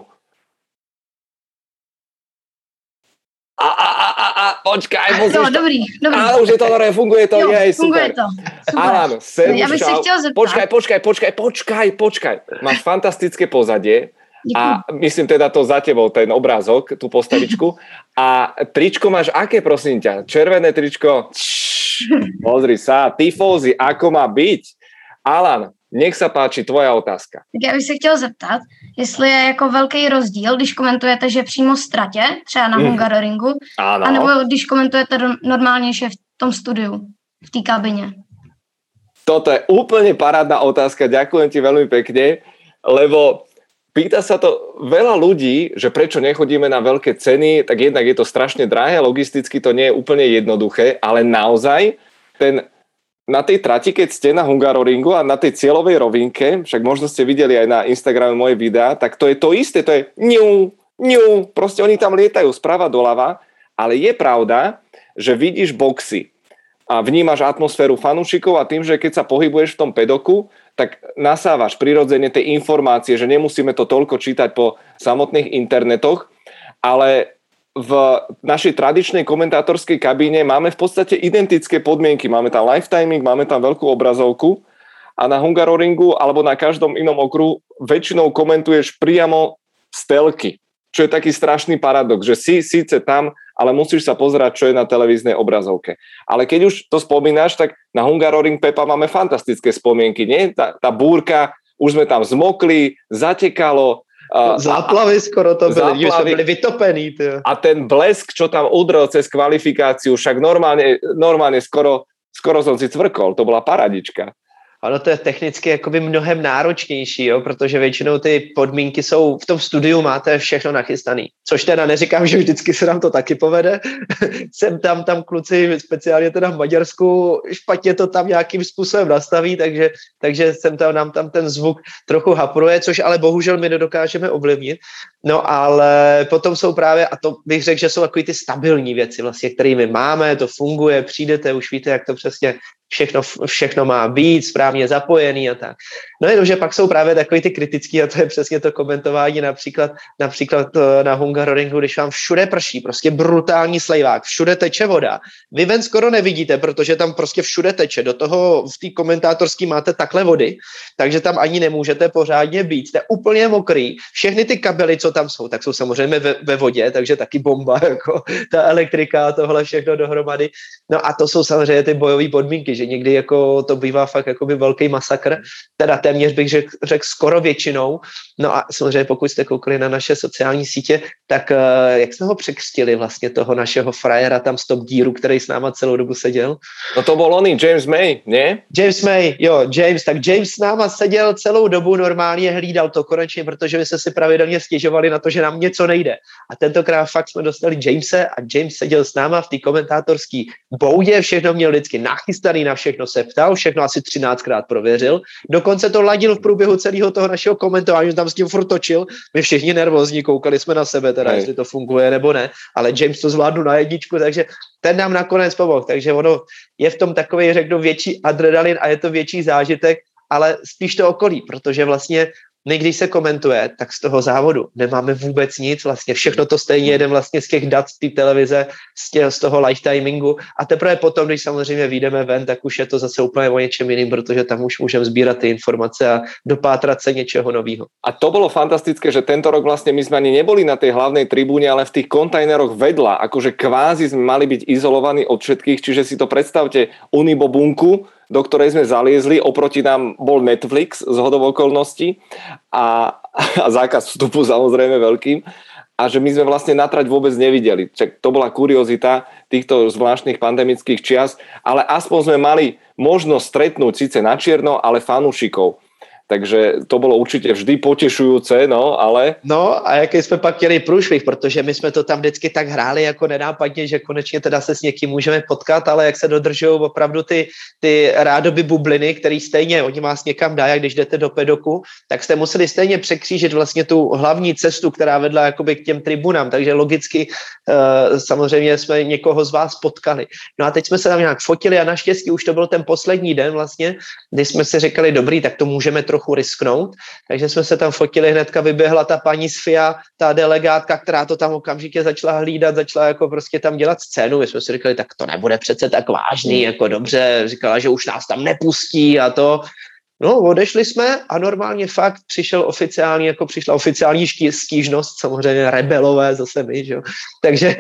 Speaker 1: Počkaj, musíš...
Speaker 8: Jo, dobrý.
Speaker 1: Áno, už je to dobré, funguje to,
Speaker 8: jo,
Speaker 1: super.
Speaker 8: Funguje to, super.
Speaker 1: Alan, servus,
Speaker 8: ja bych
Speaker 1: čau.
Speaker 8: sa chtěl zeptat.
Speaker 1: Počkaj. Máš fantastické pozadie.
Speaker 8: Děkuji.
Speaker 1: A myslím teda to za tebou, ten obrázok, tú postavičku. A tričko máš aké, prosím ťa? Červené tričko? Pozri sa, tifózy, ako má byť? Alan, nech sa páči, tvoja otázka.
Speaker 8: Tak já bych se chtěl zeptat, jestli je jako velký rozdíl, když komentujete, že přímo z tratě, třeba na Hungaroringu, anebo když komentujete normálně, že v tom studiu, v té kabině.
Speaker 1: Toto je úplne parádna otázka, ďakujem ti veľmi pekne, lebo pýta sa to veľa ľudí, že prečo nechodíme na veľké ceny, tak jednak je to strašne drahé, logisticky to nie je úplne jednoduché, ale naozaj na tej trati, keď ste na Hungaroringu a na tej cieľovej rovinke, však možno ste videli aj na Instagrame moje videá, tak to je to isté, to je ňu, proste oni tam lietajú sprava doľava, ale je pravda, že vidíš boxy a vnímaš atmosféru fanúšikov a tým, že keď sa pohybuješ v tom pedoku, tak nasávaš prirodzene tie informácie, že nemusíme to toľko čítať po samotných internetoch, ale v našej tradičnej komentátorskej kabíne máme v podstate identické podmienky. Máme tam live timing, máme tam veľkú obrazovku a na Hungaroringu alebo na každom inom okruhu väčšinou komentuješ priamo z telky, čo je taký strašný paradox, že si síce tam, ale musíš sa pozerať, čo je na televíznej obrazovke. Ale keď už to spomínaš, tak na Hungaroring, Pepa, máme fantastické spomienky, nie? Tá búrka, už sme tam zmokli, zatekalo,
Speaker 2: záplavy skoro to byly, že jsme byli vytopení. Tyjo.
Speaker 1: A ten blesk, čo tam udrel cez kvalifikáciu, však normálne skoro som si cvrkol, to bola paradička.
Speaker 2: Ono to je technicky jakoby mnohem náročnější, jo, protože většinou ty podmínky jsou, v tom studiu máte všechno nachystaný. Což teda neříkám, že vždycky se nám to taky povede. Sem tam kluci, speciálně teda v Maďarsku, špatně to tam nějakým způsobem nastaví, takže nám tam ten zvuk trochu hapruje, což ale bohužel my nedokážeme ovlivnit. No ale potom jsou právě, a to bych řekl, že jsou takový ty stabilní věci vlastně, kterými máme, to funguje, přijdete, už víte, jak to přesně všechno má být správně zapojený a tak. No jenomže pak jsou právě takový ty kritický a to je přesně to komentování například na Hungaroringu, když vám všude prší, prostě brutální slejvák, všude teče voda. Vy ven skoro nevidíte, protože tam prostě všude teče. Do toho v té komentátorský máte takhle vody, takže tam ani nemůžete pořádně být. Jste úplně mokrý. Všechny ty kabely, co tam jsou, tak jsou samozřejmě ve vodě, takže taky bomba, jako ta elektrika a tohle všechno dohromady. No a to jsou samozřejmě ty bojové podmínky, že někdy jako to bývá fakt jakoby velký masakr, teda téměř bych řekl skoro většinou. No a samozřejmě pokud jste koukali na naše sociální sítě, tak jak jsme ho překřtili vlastně toho našeho frajera tam z Top Gearu, který s náma celou dobu seděl?
Speaker 1: No to byl oný James May, ne?
Speaker 2: James May, jo, James s náma seděl celou dobu, normálně hlídal to konečně, protože my jsme si pravidelně stěžovali na to, že nám něco nejde. A tentokrát fakt jsme dostali Jamese a James seděl s náma v té komentátorské boudě, všechno měl vždycky nachystaný, na všechno se ptal, všechno asi 13krát prověřil. Dokonce to ladil v průběhu celého toho našeho komentování, tam s tím furt točil. My všichni nervózní, koukali jsme na sebe, teda jestli to funguje nebo ne, ale James to zvládnu na jedničku, takže ten nám nakonec pomohl. Takže ono je v tom takový, řeknu, větší adrenalin a je to větší zážitek, ale spíš to okolí, protože vlastně když se komentuje, tak z toho závodu nemáme vůbec nic, vlastně všechno to stejně jedem vlastně z těch dat z té televize, z toho live timingu a teprve potom, když samozřejmě vyjdeme ven, tak už je to zase úplně o něčem jiným, protože tam už můžeme sbírat ty informace a dopátrat se něčeho nového.
Speaker 1: A to bolo fantastické, že tento rok vlastne my sme ani neboli na tej hlavnej tribúne, ale v tých kontajneroch vedľa, akože kvázi sme mali byť izolovaní od všetkých, čiže si to predstavte unibobunku, do ktorej sme zaliezli, oproti nám bol Netflix z hodou okolností a zákaz vstupu samozrejme veľkým a že my sme vlastne na trať vôbec nevideli. Čak to bola kuriozita týchto zvláštnych pandemických čias, ale aspoň sme mali možnosť stretnúť síce na čierno, ale fanúšikov. Takže to bylo určitě vždy potešujúce, no, ale...
Speaker 2: No a jaký jsme pak chtěli průšvih, protože my jsme to tam vždycky tak hráli jako nenápadně, že konečně teda se s někým můžeme potkat, ale jak se dodržují opravdu ty rádoby bubliny, který stejně, oni vás někam dají, když jdete do pedoku, tak jste museli stejně překřížit vlastně tu hlavní cestu, která vedla jakoby k těm tribunám, takže logicky samozřejmě jsme někoho z vás potkali. No a teď jsme se tam nějak fotili a naštěstí už to byl ten poslední den vlastně, kdy jsme si říkali, dobrý, tak to můžeme trochu risknout, takže jsme se tam fotili, hnedka vyběhla ta paní z FIA, ta delegátka, která to tam okamžitě začala hlídat, začala jako prostě tam dělat scénu, my jsme si říkali, tak to nebude přece tak vážný, jako dobře, říkala, že už nás tam nepustí a to. No, odešli jsme a normálně fakt přišla oficiální stížnost, samozřejmě rebelové zase my, že jo. Takže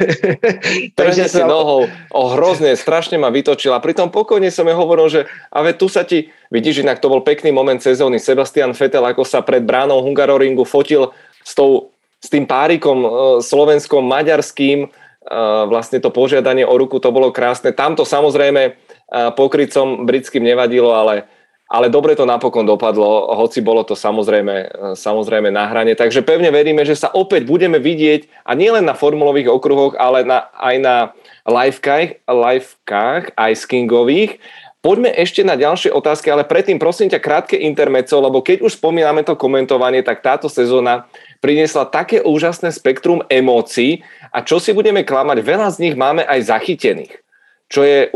Speaker 1: si nohou, hrozně, strašně ma vytočila. Pritom pokojne som je hovoril, že ale tu sa ti, vidíš, inak to bol pekný moment sezóny. Sebastian Vettel, ako sa pred bránou Hungaroringu fotil s tým párikom slovenskom, maďarským, vlastne to požiadanie o ruku, to bolo krásne. Tam to samozrejme pokrytcom britským nevadilo, ale dobre to napokon dopadlo, hoci bolo to samozrejme na hrane. Takže pevne veríme, že sa opäť budeme vidieť a nielen na formulových okruhoch, ale aj na livekách Ice Kingových. Poďme ešte na ďalšie otázky, ale predtým prosím ťa krátke intermezzo, lebo keď už spomíname to komentovanie, tak táto sezóna priniesla také úžasné spektrum emócií a čo si budeme klamať, veľa z nich máme aj zachytených, čo je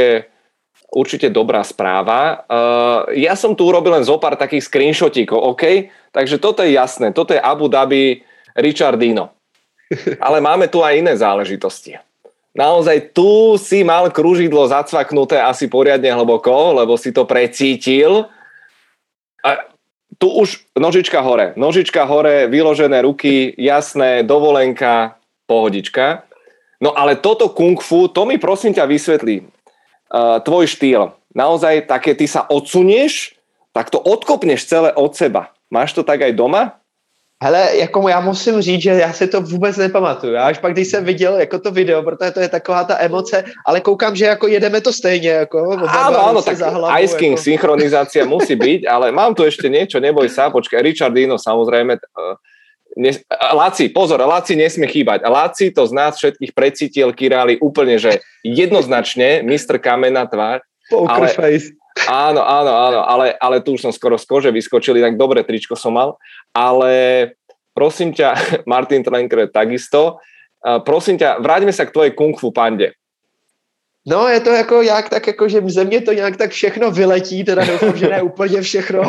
Speaker 1: určite dobrá správa. Ja som tu urobil len zopár takých screenshotíkov, OK? Takže toto je jasné, toto je Abu Dhabi Richardino. Ale máme tu aj iné záležitosti. Naozaj tu si mal kružidlo zacvaknuté asi poriadne hlboko, lebo si to precítil A tu už nožička hore, vyložené ruky, jasné, dovolenka, pohodička. No ale toto kung fu, to mi prosím ťa vysvetlí. Tvoj štýl. Naozaj také, ty sa odsunieš, tak to odkopneš celé od seba. Máš to tak aj doma?
Speaker 2: Hele, jako já musím říct, že já si to vůbec nepamatuju. Já až pak, když jsem viděl jako to video, protože to je taková ta emoce, ale koukám, že jako jedeme to stejně. Jako,
Speaker 1: áno, tak Ice King jako... synchronizácia musí byť, ale mám tu ešte niečo, neboj sa, počkaj, Richardino samozrejme... Laci nesmie chýbať. Laci to z nás všetkých precítil Király úplne, že jednoznačne Mr. Kamená tvár.
Speaker 2: Poker face.
Speaker 1: Áno, ale tu už som skoro z kože vyskočil, tak dobre tričko som mal, ale prosím ťa, Martin Trenker takisto, prosím ťa, vráťme sa k tvojej kung fu pande.
Speaker 2: No, je to jako jak tak, jako, že ze mě to nějak tak všechno vyletí, teda doufám, že ne úplně všechno.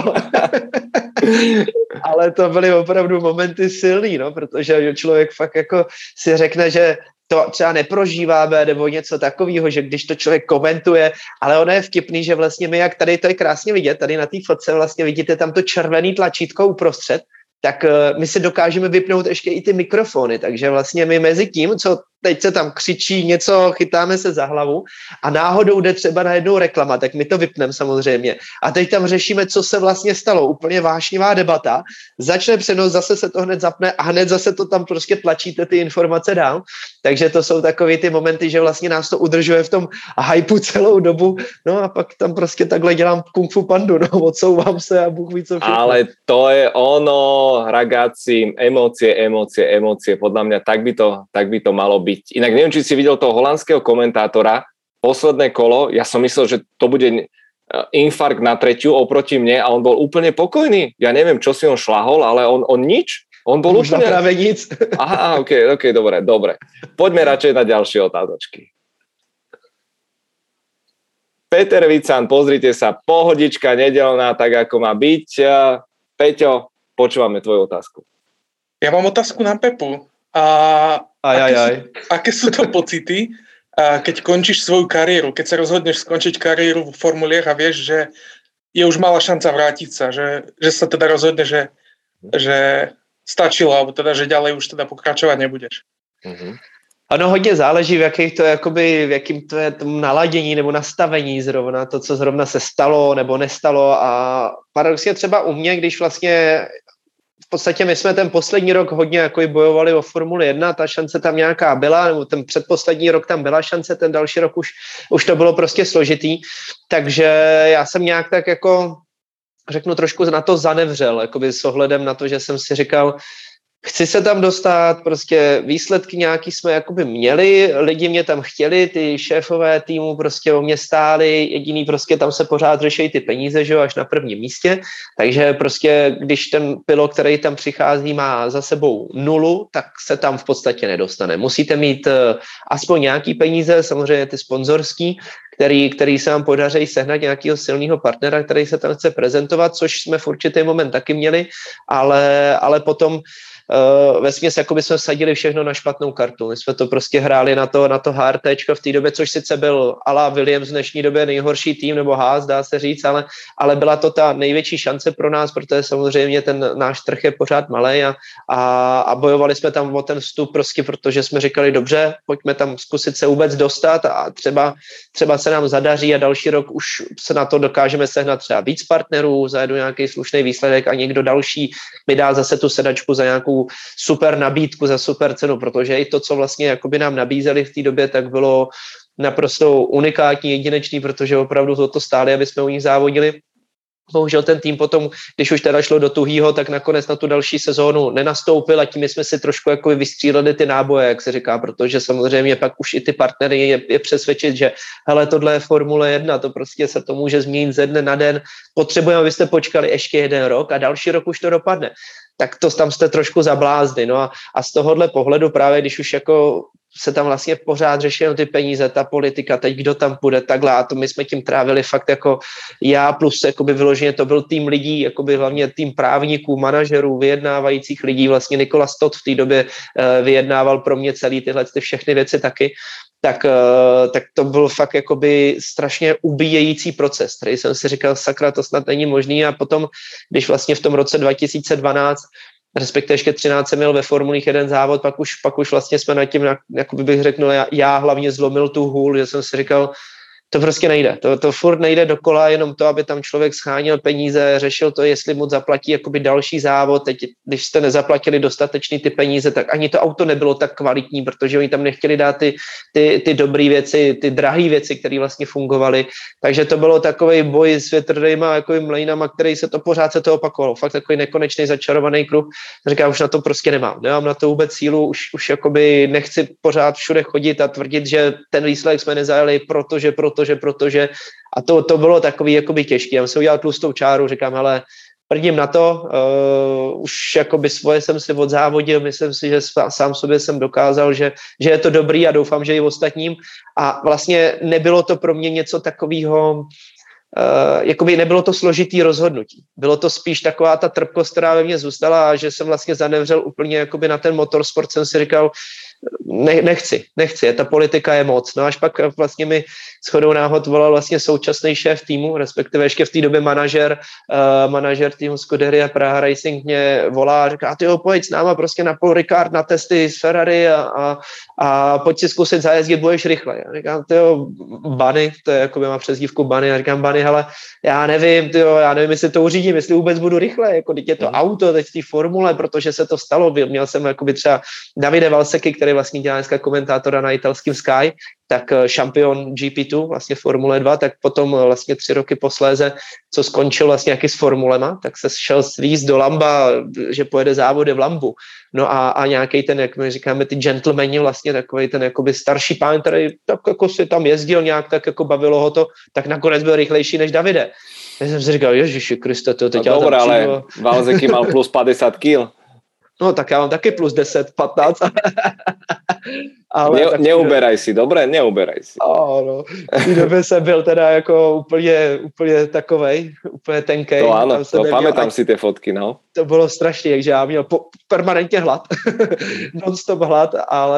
Speaker 2: Ale to byly opravdu momenty silný, no, protože člověk fakt jako si řekne, že to třeba neprožíváme nebo něco takového, že když to člověk komentuje, ale ono je vtipný, že vlastně my, jak tady to je krásně vidět, tady na té fotce vlastně vidíte tam to červený tlačítko uprostřed, tak my si dokážeme vypnout ještě i ty mikrofony, takže vlastně my mezi tím, co teď se tam křičí něco, chytáme se za hlavu a náhodou jde třeba na jednou reklama, tak my to vypneme samozřejmě. A teď tam řešíme, co se vlastně stalo. Úplně vášnivá debata. Začne přenos, zase se to hned zapne a hned zase to tam prostě tlačíte ty informace dál. Takže to jsou takové ty momenty, že vlastně nás to udržuje v tom hypeu celou dobu. No a pak tam prostě takhle dělám kung fu pandu, no odsouvám se a Bůh ví co všechno.
Speaker 1: Ale to je ono, ragazzi, emócie. Podľa mňa tak by to malo byť. Inak neviem, či si videl toho holandského komentátora, posledné kolo, ja som myslel, že to bude infarkt na tretiu oproti mne a on bol úplne pokojný. Ja neviem, čo si on šlahol, ale on nič. On bol
Speaker 2: už úplne... práve nic.
Speaker 1: Aha, ok, dobre. Poďme radšej na ďalšie otázočky. Peter Vican, pozrite sa, pohodička nedeľná, tak ako má byť. Peťo, počúvame tvoju otázku.
Speaker 9: Ja mám otázku na Pepu. Aké sú to pocity, keď končíš svoju kariéru, keď sa rozhodneš skončiť kariéru v formuliach a vieš, že je už malá šanca vrátiť sa, že sa teda rozhodne, že stačilo, alebo teda, že ďalej už teda pokračovať nebudeš.
Speaker 2: Ono hodně záleží, v jakým to je naladění nebo nastavení zrovna, to, co zrovna se stalo nebo nestalo a paradoxně třeba u mě, když vlastně v podstatě my jsme ten poslední rok hodně jako bojovali o Formuli 1, ta šance tam nějaká byla, nebo ten předposlední rok tam byla šance, ten další rok už to bylo prostě složitý, takže já jsem nějak tak jako, řeknu trošku na to zanevřel, jakoby s ohledem na to, že jsem si říkal, chci se tam dostat, prostě výsledky nějaký jsme jakoby měli, lidi mě tam chtěli, ty šéfové týmu prostě o mě stáli, jediný prostě tam se pořád řeší ty peníze, že jo, až na prvním místě, takže prostě když ten pilot, který tam přichází, má za sebou 0, tak se tam v podstatě nedostane. Musíte mít aspoň nějaký peníze, samozřejmě ty sponzorský, který se vám podaří sehnat nějakého silného partnera, který se tam chce prezentovat, což jsme v určitý moment taky měli, ale potom vesměs jakoby jsme vsadili všechno na špatnou kartu. My jsme to prostě hráli na to HRTčko v té době, což sice byl ala Williams v dnešní době nejhorší tým, nebo Haas, dá se říct, ale byla to ta největší šance pro nás, protože samozřejmě ten náš trh je pořád malej a bojovali jsme tam o ten vstup prostě, protože jsme říkali, dobře, pojďme tam zkusit se vůbec dostat a třeba se nám zadaří a další rok už se na to dokážeme sehnat třeba víc partnerů, zajedu nějaký slušný výsledek a někdo další mi dá zase tu sedačku za nějakou super nabídku, za super cenu, protože i to, co vlastně jakoby nám nabízeli v té době, tak bylo naprosto unikátní, jedinečný, protože opravdu to stáli, aby jsme u nich závodili. Bohužel ten tým potom, když už teda šlo do tuhýho, tak nakonec na tu další sezónu nenastoupil a tím jsme si trošku jako vystříleli ty náboje, jak se říká, protože samozřejmě pak už i ty partnery je přesvědčit, že hele, tohle je Formule 1, to prostě se to může změnit ze dne na den, potřebujeme, abyste počkali ještě 1 rok a další rok už to dopadne. Tak to tam jste trošku zablázni. No a z tohohle pohledu právě, když už jako se tam vlastně pořád řeší ty peníze, ta politika, teď kdo tam půjde, takhle a to my jsme tím trávili fakt jako já plus jakoby vyloženě to byl tým lidí, jakoby hlavně tým právníků, manažerů, vyjednávajících lidí, vlastně Nikola Stott v té době vyjednával pro mě celý tyhle všechny věci taky. tak to byl fakt jakoby strašně ubíjející proces, který jsem si říkal, sakra, to snad není možný. A potom, když vlastně v tom roce 2012, respektive ještě 13 jsem měl ve formulích jeden závod, pak už vlastně jsme nad tím, jakoby bych řekl, já hlavně zlomil tu hůl, že jsem si říkal, to prostě nejde. To furt nejde dokola, jenom to, aby tam člověk schánil peníze, řešil to, jestli mu zaplatí jakoby další závod. Teď, když jste nezaplatili dostatečný ty peníze, tak ani to auto nebylo tak kvalitní, protože oni tam nechtěli dát ty dobré věci, ty drahé věci, které vlastně fungovaly. Takže to bylo takový boj s větrnýma jako mlejnama, který se to opakovalo. Fakt takový nekonečný začarovaný kruh. Říkám, už na to prostě nemám na to vůbec sílu, už jakoby nechci pořád všude chodit a tvrdit, že ten výsledek jsme nezajeli, protože a to bylo takový jakoby těžký. Já jsem si udělal tlustou čáru, říkám, hele, prdím na to, už jakoby svoje jsem si odzávodil, myslím si, že sám sobě jsem dokázal, že je to dobrý a doufám, že i ostatním. A vlastně nebylo to pro mě něco takového, jakoby nebylo to složitý rozhodnutí. Bylo to spíš taková ta trpkost, která ve mně zůstala a že jsem vlastně zanevřel úplně jakoby na ten motorsport, jsem si říkal, nechci, ta politika je moc. No až pak vlastně mi shodou náhod volal vlastně současný šéf týmu, respektive ještě v té době manažer týmu Scuderia Praha Racing mě volá a říká, tyjo, pojď s náma prostě na Paul Ricard na testy z Ferrari a pojď si zkusit zajezdit, budeš rychle. Já říkám, tyjo, Bunny, to je jako by má přezdívku Bunny, a říkám, Bunny, hele, já nevím, jestli to uřídím, jestli vůbec budu rychle, jako teď je to auto, teď v té formule, protože se to stalo, měl jsem jakoby třeba Davide Valseky, který vlastně dělá dneska komentátora na italském Sky, tak šampion GP2, vlastně Formule 2, tak potom vlastně 3 roky posléze, co skončil vlastně jaký s formulema, tak se šel svízt do Lamba, že pojede závody v Lambu. No a nějaký ten, jak my říkáme, ty gentlemani, vlastně takový ten jakoby starší pán, který tak jako si tam jezdil nějak, tak jako bavilo ho to, tak nakonec byl rychlejší než Davide. Já jsem si říkal, Ježiši Kriste, to teď
Speaker 1: no, dobré, ale Valseky mal plus 50 kg.
Speaker 2: No tak já mám taky plus 10, 15.
Speaker 1: Ale neuberaj si, dobré? Neuberaj si.
Speaker 2: No. V té době jsem byl teda jako úplně takovej, úplně tenkej.
Speaker 1: To ano, to pamätám si ty fotky, no.
Speaker 2: To bylo strašně, takže já měl permanentně hlad, non-stop hlad,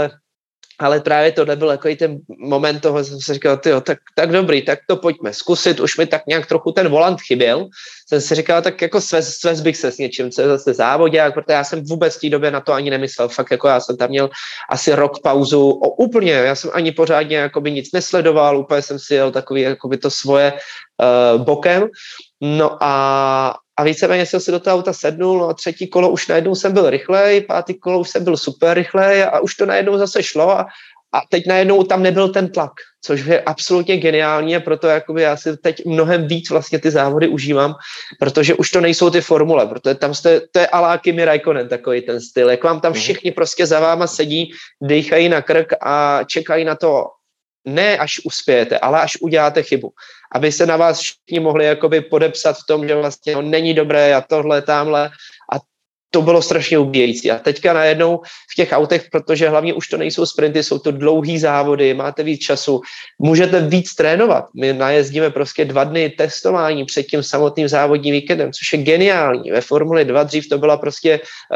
Speaker 2: ale právě tohle byl takový ten moment toho, jsem si říkal, tyjo, tak dobrý, tak to pojďme zkusit, už mi tak nějak trochu ten volant chyběl, jsem si říkal, tak jako svez bych se s něčím, co je zase závodák, protože já jsem vůbec v té době na to ani nemyslel, fakt jako já jsem tam měl asi rok pauzu, úplně, já jsem ani pořádně jakoby nic nesledoval, úplně jsem si jel takový jakoby to svoje bokem, no a víceméně jsem si do toho auta sednul, no a 3. kolo už najednou jsem byl rychlej, 5. kolo už jsem byl super rychlej a už to najednou zase šlo a teď najednou tam nebyl ten tlak, což je absolutně geniální a proto jakoby já si teď mnohem víc vlastně ty závody užívám, protože už to nejsou ty formule, protože tam to je alá Kimi Räikkönen takový ten styl, jak vám tam všichni prostě za váma sedí, dejchají na krk a čekají na to, ne až uspějete, ale až uděláte chybu. Aby se na vás všichni mohli jakoby podepsat v tom, že vlastně není dobré a tohle, tamhle. A to bylo strašně ubíjející. A teďka najednou v těch autech, protože hlavně už to nejsou sprinty, jsou to dlouhý závody, máte víc času, můžete víc trénovat. My najezdíme prostě 2 dny testování před tím samotným závodním víkendem, což je geniální. Ve Formuli 2 dřív to byla prostě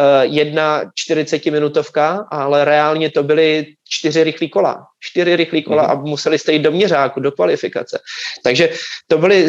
Speaker 2: 1 40-minutovka, ale reálně to byly 4 rychlý kola. 4 rychlý kola a museli jste jít do měřáku, do kvalifikace. Takže to byly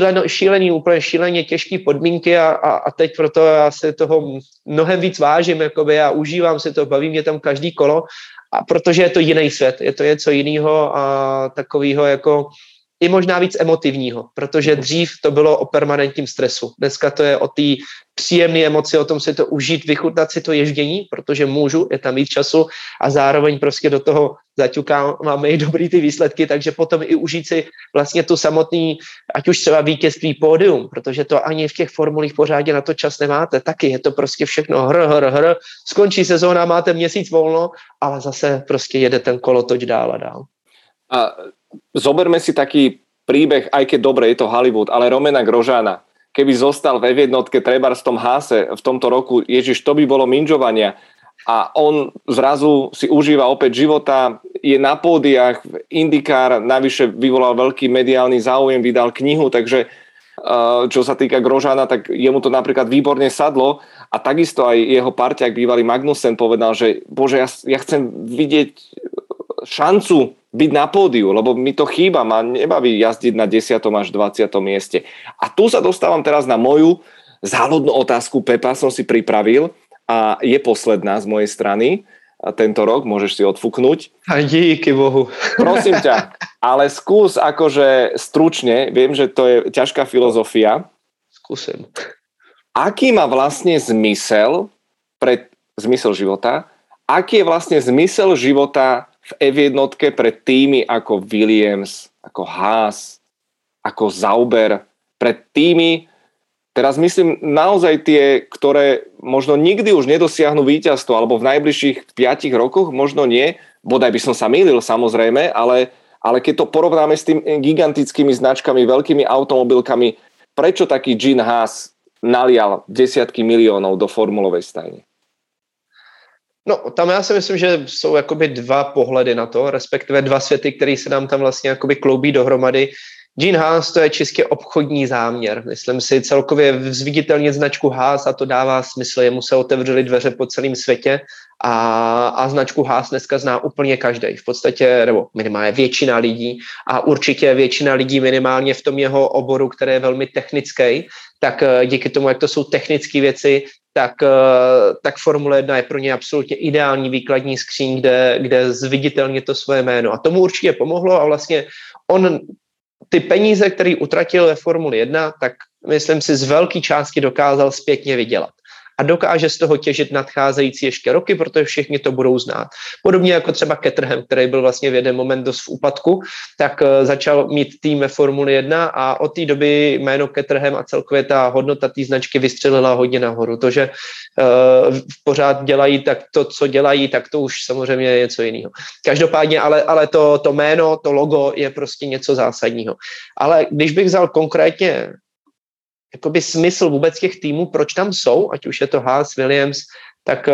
Speaker 2: úplně šíleně těžké podmínky a teď proto já si toho mnohem víc vážím jakoby, a užívám si to, baví mě tam každý kolo, a protože je to jiný svět, je to něco jiného a takového jako i možná víc emotivního, protože dřív to bylo o permanentním stresu. Dneska to je o té příjemné emoci, o tom si to užít, vychutnat si to ježdění, protože můžu, je tam víc času a zároveň prostě do toho zaťukám, máme i dobrý ty výsledky, takže potom i užít si vlastně tu samotný, ať už třeba vítězství pódium, protože to ani v těch formulích pořádně na to čas nemáte, taky je to prostě všechno hr, skončí sezóna, máte měsíc volno, ale zase prostě jede ten kolotoč dál a dál.
Speaker 1: A zoberme si taký príbeh, aj keď dobre, je to Hollywood, ale Romana Grosjeana, keby zostal v F1 trebárs v tom Haase v tomto roku, ježiš, to by bolo minžovania a on zrazu si užíva opäť života, je na pódiach, IndyCar navyše vyvolal veľký mediálny záujem, vydal knihu, takže čo sa týka Grosjeana, tak jemu to napríklad výborne sadlo a takisto aj jeho parťák bývalý Magnussen povedal, že bože, ja chcem vidieť šancu byť na pódiu, lebo mi to chýba, ma nebaví jazdiť na 10. až 20. mieste. A tu sa dostávam teraz na moju záľudnú otázku, Pepa, som si pripravil a je posledná z mojej strany. A tento rok môžeš si odfúknuť.
Speaker 2: A díky Bohu.
Speaker 1: Prosím ťa, ale skús akože stručne, viem, že to je ťažká filozofia.
Speaker 2: Skúsim.
Speaker 1: Aký má vlastne zmysel života? Aký je vlastne zmysel života v F1 pre týmy ako Williams, ako Haas, ako Sauber, pre týmy, teraz myslím naozaj tie, ktoré možno nikdy už nedosiahnu víťazstvo, alebo v najbližších 5 rokoch možno nie, bodaj by som sa mýlil samozrejme, ale keď to porovnáme s tým gigantickými značkami, veľkými automobilkami, prečo taký Gene Haas nalial desiatky miliónov do formulovej stajne?
Speaker 2: No, tam já si myslím, že jsou jakoby dva pohledy na to, respektive dva světy, které se nám tam vlastně jakoby kloubí dohromady. Gene Haas, to je čistě obchodní záměr. Myslím si celkově zviditelnit značku Haas a to dává smysl. Jemu se otevřely dveře po celém světě a značku Haas dneska zná úplně každý. V podstatě, nebo minimálně většina lidí a určitě většina lidí minimálně v tom jeho oboru, který je velmi technický, tak díky tomu, jak to jsou technické věci, tak Formule 1 je pro ně absolutně ideální výkladní skříň, kde zviditelně to svoje jméno. A tomu určitě pomohlo a vlastně on ty peníze, které utratil ve Formuli 1, tak myslím si z velké části dokázal zpětně vydělat. A dokáže z toho těžit nadcházející ještě roky, protože všichni to budou znát. Podobně jako třeba Caterham, který byl vlastně v jeden moment dost v úpadku, tak začal mít tým ve Formuli 1 a od té doby jméno Caterham a celkově ta hodnota té značky vystřelila hodně nahoru. To, že pořád dělají tak to, co dělají, tak to už samozřejmě je něco jiného. Každopádně, ale to jméno, to logo je prostě něco zásadního. Ale když bych vzal konkrétně jakoby smysl vůbec těch týmů, proč tam jsou, ať už je to Haas, Williams, tak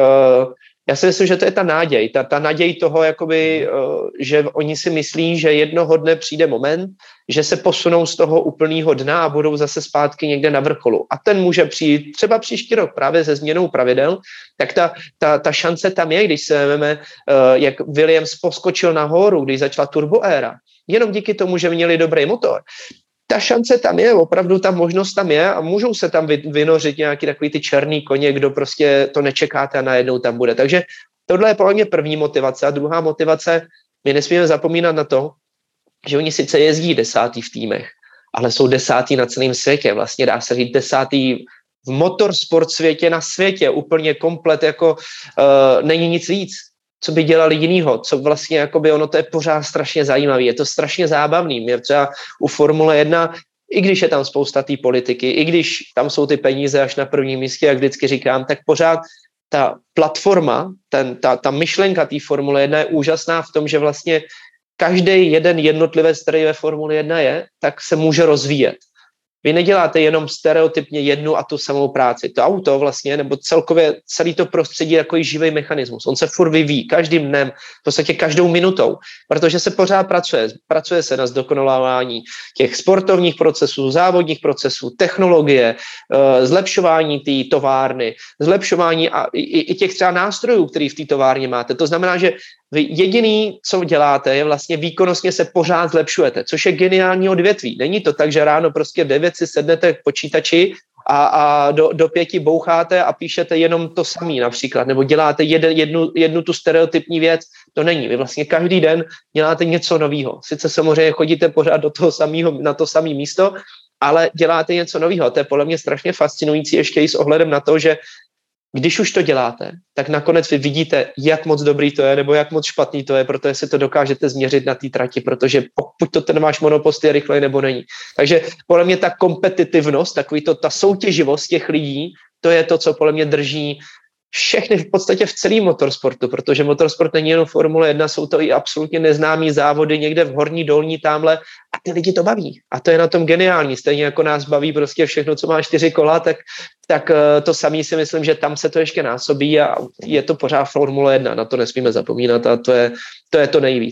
Speaker 2: já si myslím, že to je ta naděj. Ta naděj toho, jakoby, že oni si myslí, že jednoho dne přijde moment, že se posunou z toho úplného dna a budou zase zpátky někde na vrcholu. A ten může přijít třeba příští rok právě se změnou pravidel, tak ta šance tam je, když se vezmeme, jak Williams poskočil nahoru, když začala turboéra. Jenom díky tomu, že měli dobrý motor. Ta šance tam je, opravdu ta možnost tam je a můžou se tam vynořit nějaký takový ty černý koně, kdo prostě to nečekáte a najednou tam bude. Takže tohle je podle mě první motivace. A druhá motivace, my nesmíme zapomínat na to, že oni sice jezdí 10. v týmech, ale jsou 10. na celém světě. Vlastně dá se říct 10. v motorsport světě na světě. Úplně komplet, jako není nic víc. Co by dělali jinýho, co vlastně, jakoby ono to je pořád strašně zajímavý, je to strašně zábavný. Mě třeba u Formule 1, i když je tam spousta té politiky, i když tam jsou ty peníze až na prvním místě, jak vždycky říkám, tak pořád ta platforma, ta myšlenka té Formule 1 je úžasná v tom, že vlastně každý jeden jednotlivec, který ve Formule 1 je, tak se může rozvíjet. Vy neděláte jenom stereotypně jednu a tu samou práci. To auto vlastně, nebo celkově celý to prostředí jako i živý mechanismus. On se furt vyvíjí každým dnem, v podstatě každou minutou, protože se pořád pracuje. Pracuje se na zdokonalování těch sportovních procesů, závodních procesů, technologie, zlepšování té továrny, zlepšování a i těch třeba nástrojů, který v té továrně máte. To znamená, že vy jediný, co děláte, je vlastně výkonnostně se pořád zlepšujete, což je geniální odvětví. Není to tak, že ráno prostě v 9 si sednete k počítači a do 5 boucháte a píšete jenom to samý například, nebo děláte jednu tu stereotypní věc. To není. Vy vlastně každý den děláte něco nového. Sice samozřejmě chodíte pořád do toho samého, na to samé místo, ale děláte něco nového. To je podle mě strašně fascinující ještě i s ohledem na to, že když už to děláte, tak nakonec vy vidíte, jak moc dobrý to je, nebo jak moc špatný to je, protože si to dokážete změřit na té trati, protože pokud to ten váš monopost je rychlej nebo není. Takže podle mě ta kompetitivnost, ta soutěživost těch lidí, to je to, co podle mě drží všechny v podstatě v celém motorsportu, protože motorsport není jenom Formule 1, jsou to i absolutně neznámý závody někde v horní, dolní, tamhle a ty lidi to baví. A to je na tom geniální. Stejně jako nás baví prostě všechno, co má 4 kola, tak to samý si myslím, že tam se to ještě násobí a je to pořád Formule 1, na to nesmíme zapomínat a to je to nejvíc.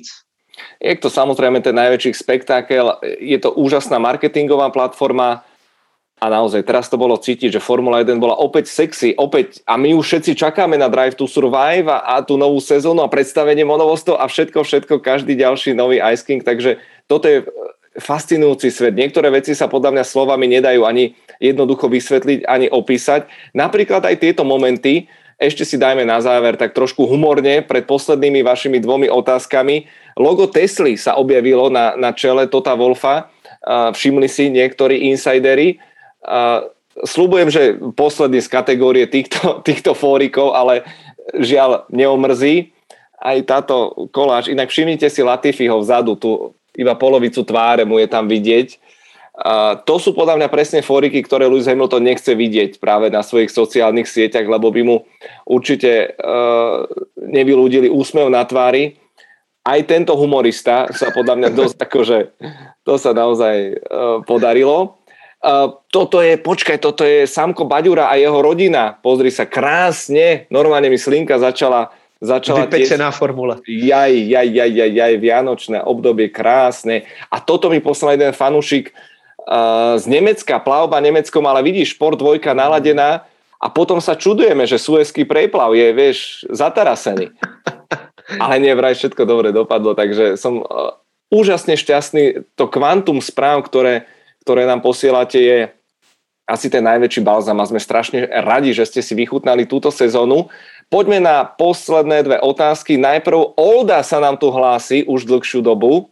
Speaker 1: Je to samozrejme ten najväčší spektákel, je to úžasná marketingová platforma. A naozaj, teraz to bolo cítiť, že Formula 1 bola opäť sexy, opäť, a my už všetci čakáme na Drive to Survive a tú novú sezónu a predstavenie monovostov a všetko, každý ďalší nový Ice King, takže toto je fascinujúci svet. Niektoré veci sa podľa mňa slovami nedajú ani jednoducho vysvetliť, ani opísať. Napríklad aj tieto momenty, ešte si dajme na záver tak trošku humorne pred poslednými vašimi 2 otázkami. Logo Tesly sa objavilo na čele Tota Wolffa, všimli si niektorí insideri. Sľubujem, že posledný z kategórie týchto fórikov, ale žiaľ neomrzí aj táto koláž. Inak všimnite si Latifiho vzadu, tu iba polovicu tváre mu je tam vidieť. To sú podľa mňa presne fóriky, ktoré Lewis Hamilton nechce vidieť práve na svojich sociálnych sieťach, lebo by mu určite nevyľúdili úsmev na tvári. Aj tento humorista sa podľa mňa dosť akože to sa naozaj podarilo. Toto je Samko Baďura a jeho rodina. Pozri sa, krásne, normálne mi slinka začala
Speaker 2: vypečená formule.
Speaker 1: Jaj, vianočné obdobie, krásne. A toto mi poslal jeden fanúšik z Nemecka, plavba Nemeckom, ale vidíš, Šport 2 naladená a potom sa čudujeme, že Suezský preplav je, vieš, zatarasený. Ale nie, vraj všetko dobre dopadlo, takže som úžasne šťastný. To kvantum správ, ktoré nám posielate, je asi ten najväčší balzam a sme strašne radi, že ste si vychutnali túto sezónu. Poďme na posledné 2 otázky. Najprv Olda sa nám tu hlási už dlhšiu dobu.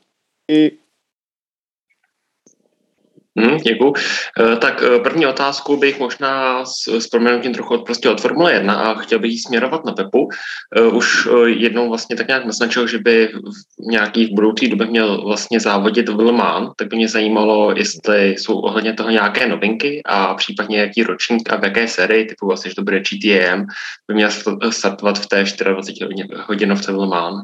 Speaker 10: Děkuju. Tak první otázku bych možná s proměnutím trochu od Formule 1 a chtěl bych ji směrovat na Pepu. Už jednou vlastně tak nějak naznačil, že by v nějakých budoucích době měl vlastně závodit v Le Mans, tak by mě zajímalo, jestli jsou ohledně toho nějaké novinky a případně jaký ročník a v jaké sérii, typu vlastně, že to bude GTM, by měl startovat v té 24-hodinovce v Le Mans.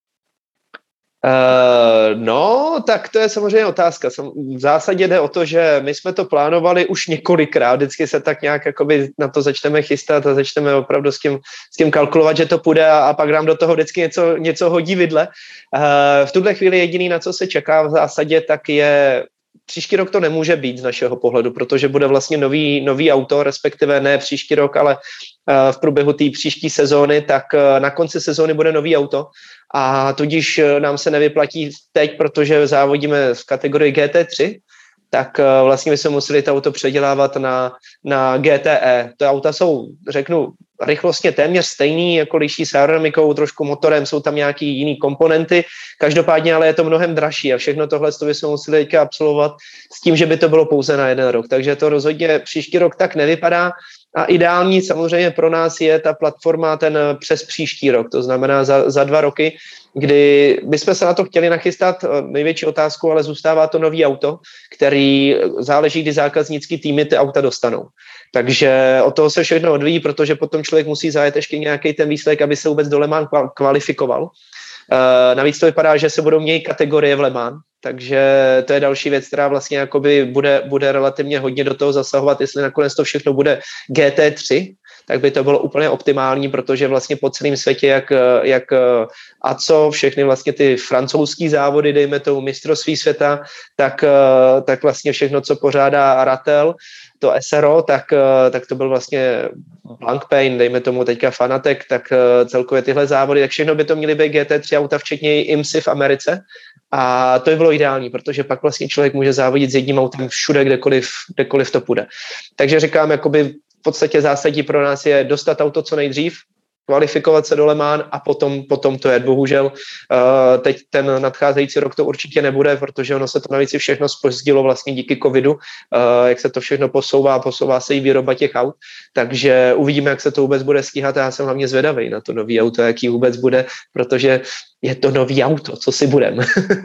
Speaker 2: No, tak to je samozřejmě otázka. V zásadě jde o to, že my jsme to plánovali už několikrát, vždycky se tak nějak jakoby na to začneme chystat a začneme opravdu s tím kalkulovat, že to půjde a pak nám do toho vždycky něco hodí vidle. V tuhle chvíli jediný, na co se čeká v zásadě, tak je příští rok to nemůže být z našeho pohledu, protože bude vlastně nový auto, respektive ne příští rok, ale v průběhu té příští sezóny, tak na konci sezóny bude nový auto a tudíž nám se nevyplatí teď, protože závodíme v kategorii GT3, tak vlastně bychom museli to auto předělávat na GTE. To auta jsou, řeknu, rychlostně téměř stejný, jako liší s aerodynamikou, trošku motorem, jsou tam nějaký jiný komponenty, každopádně ale je to mnohem dražší a všechno tohle bychom museli teďka absolvovat s tím, že by to bylo pouze na 1 rok. Takže to rozhodně příští rok tak nevypadá a ideální samozřejmě pro nás je ta platforma ten přes příští rok, to znamená za 2 roky, kdy bychom se na to chtěli nachystat, největší otázku, ale zůstává to nový auto, který záleží, kdy zákaznický týmy ty auta dostanou. Takže od toho se všechno odvíjí, protože potom člověk musí zajet ještě nějaký ten výsledek, aby se vůbec do Le Mans kvalifikoval. Navíc to vypadá, že se budou měnit kategorie v Le Mans, takže to je další věc, která vlastně jakoby bude relativně hodně do toho zasahovat, jestli nakonec to všechno bude GT3, tak by to bylo úplně optimální, protože vlastně po celém světě, jak ACO, všechny vlastně ty francouzský závody, dejme tomu mistrovství světa, tak vlastně všechno, co pořádá Ratel, to SRO, tak to byl vlastně Blancpain, dejme tomu teďka Fanatec, tak celkově tyhle závody, tak všechno by to měly být GT3 auta, včetně IMSI v Americe. A to by bylo ideální, protože pak vlastně člověk může závodit s jedním autem všude, kdekoliv to půjde. Takže říkám, jakoby v podstatě zásadní pro nás je dostat auto co nejdřív, kvalifikovat se do Le Mans a potom to je. Bohužel teď ten nadcházející rok to určitě nebude, protože ono se to navíc všechno zpozdilo vlastně díky covidu, jak se to všechno posouvá se i výroba těch aut, takže uvidíme, jak se to vůbec bude stíhat a já jsem hlavně zvědavý na to nový auto, jaký vůbec bude, protože je to nový auto, co si budem.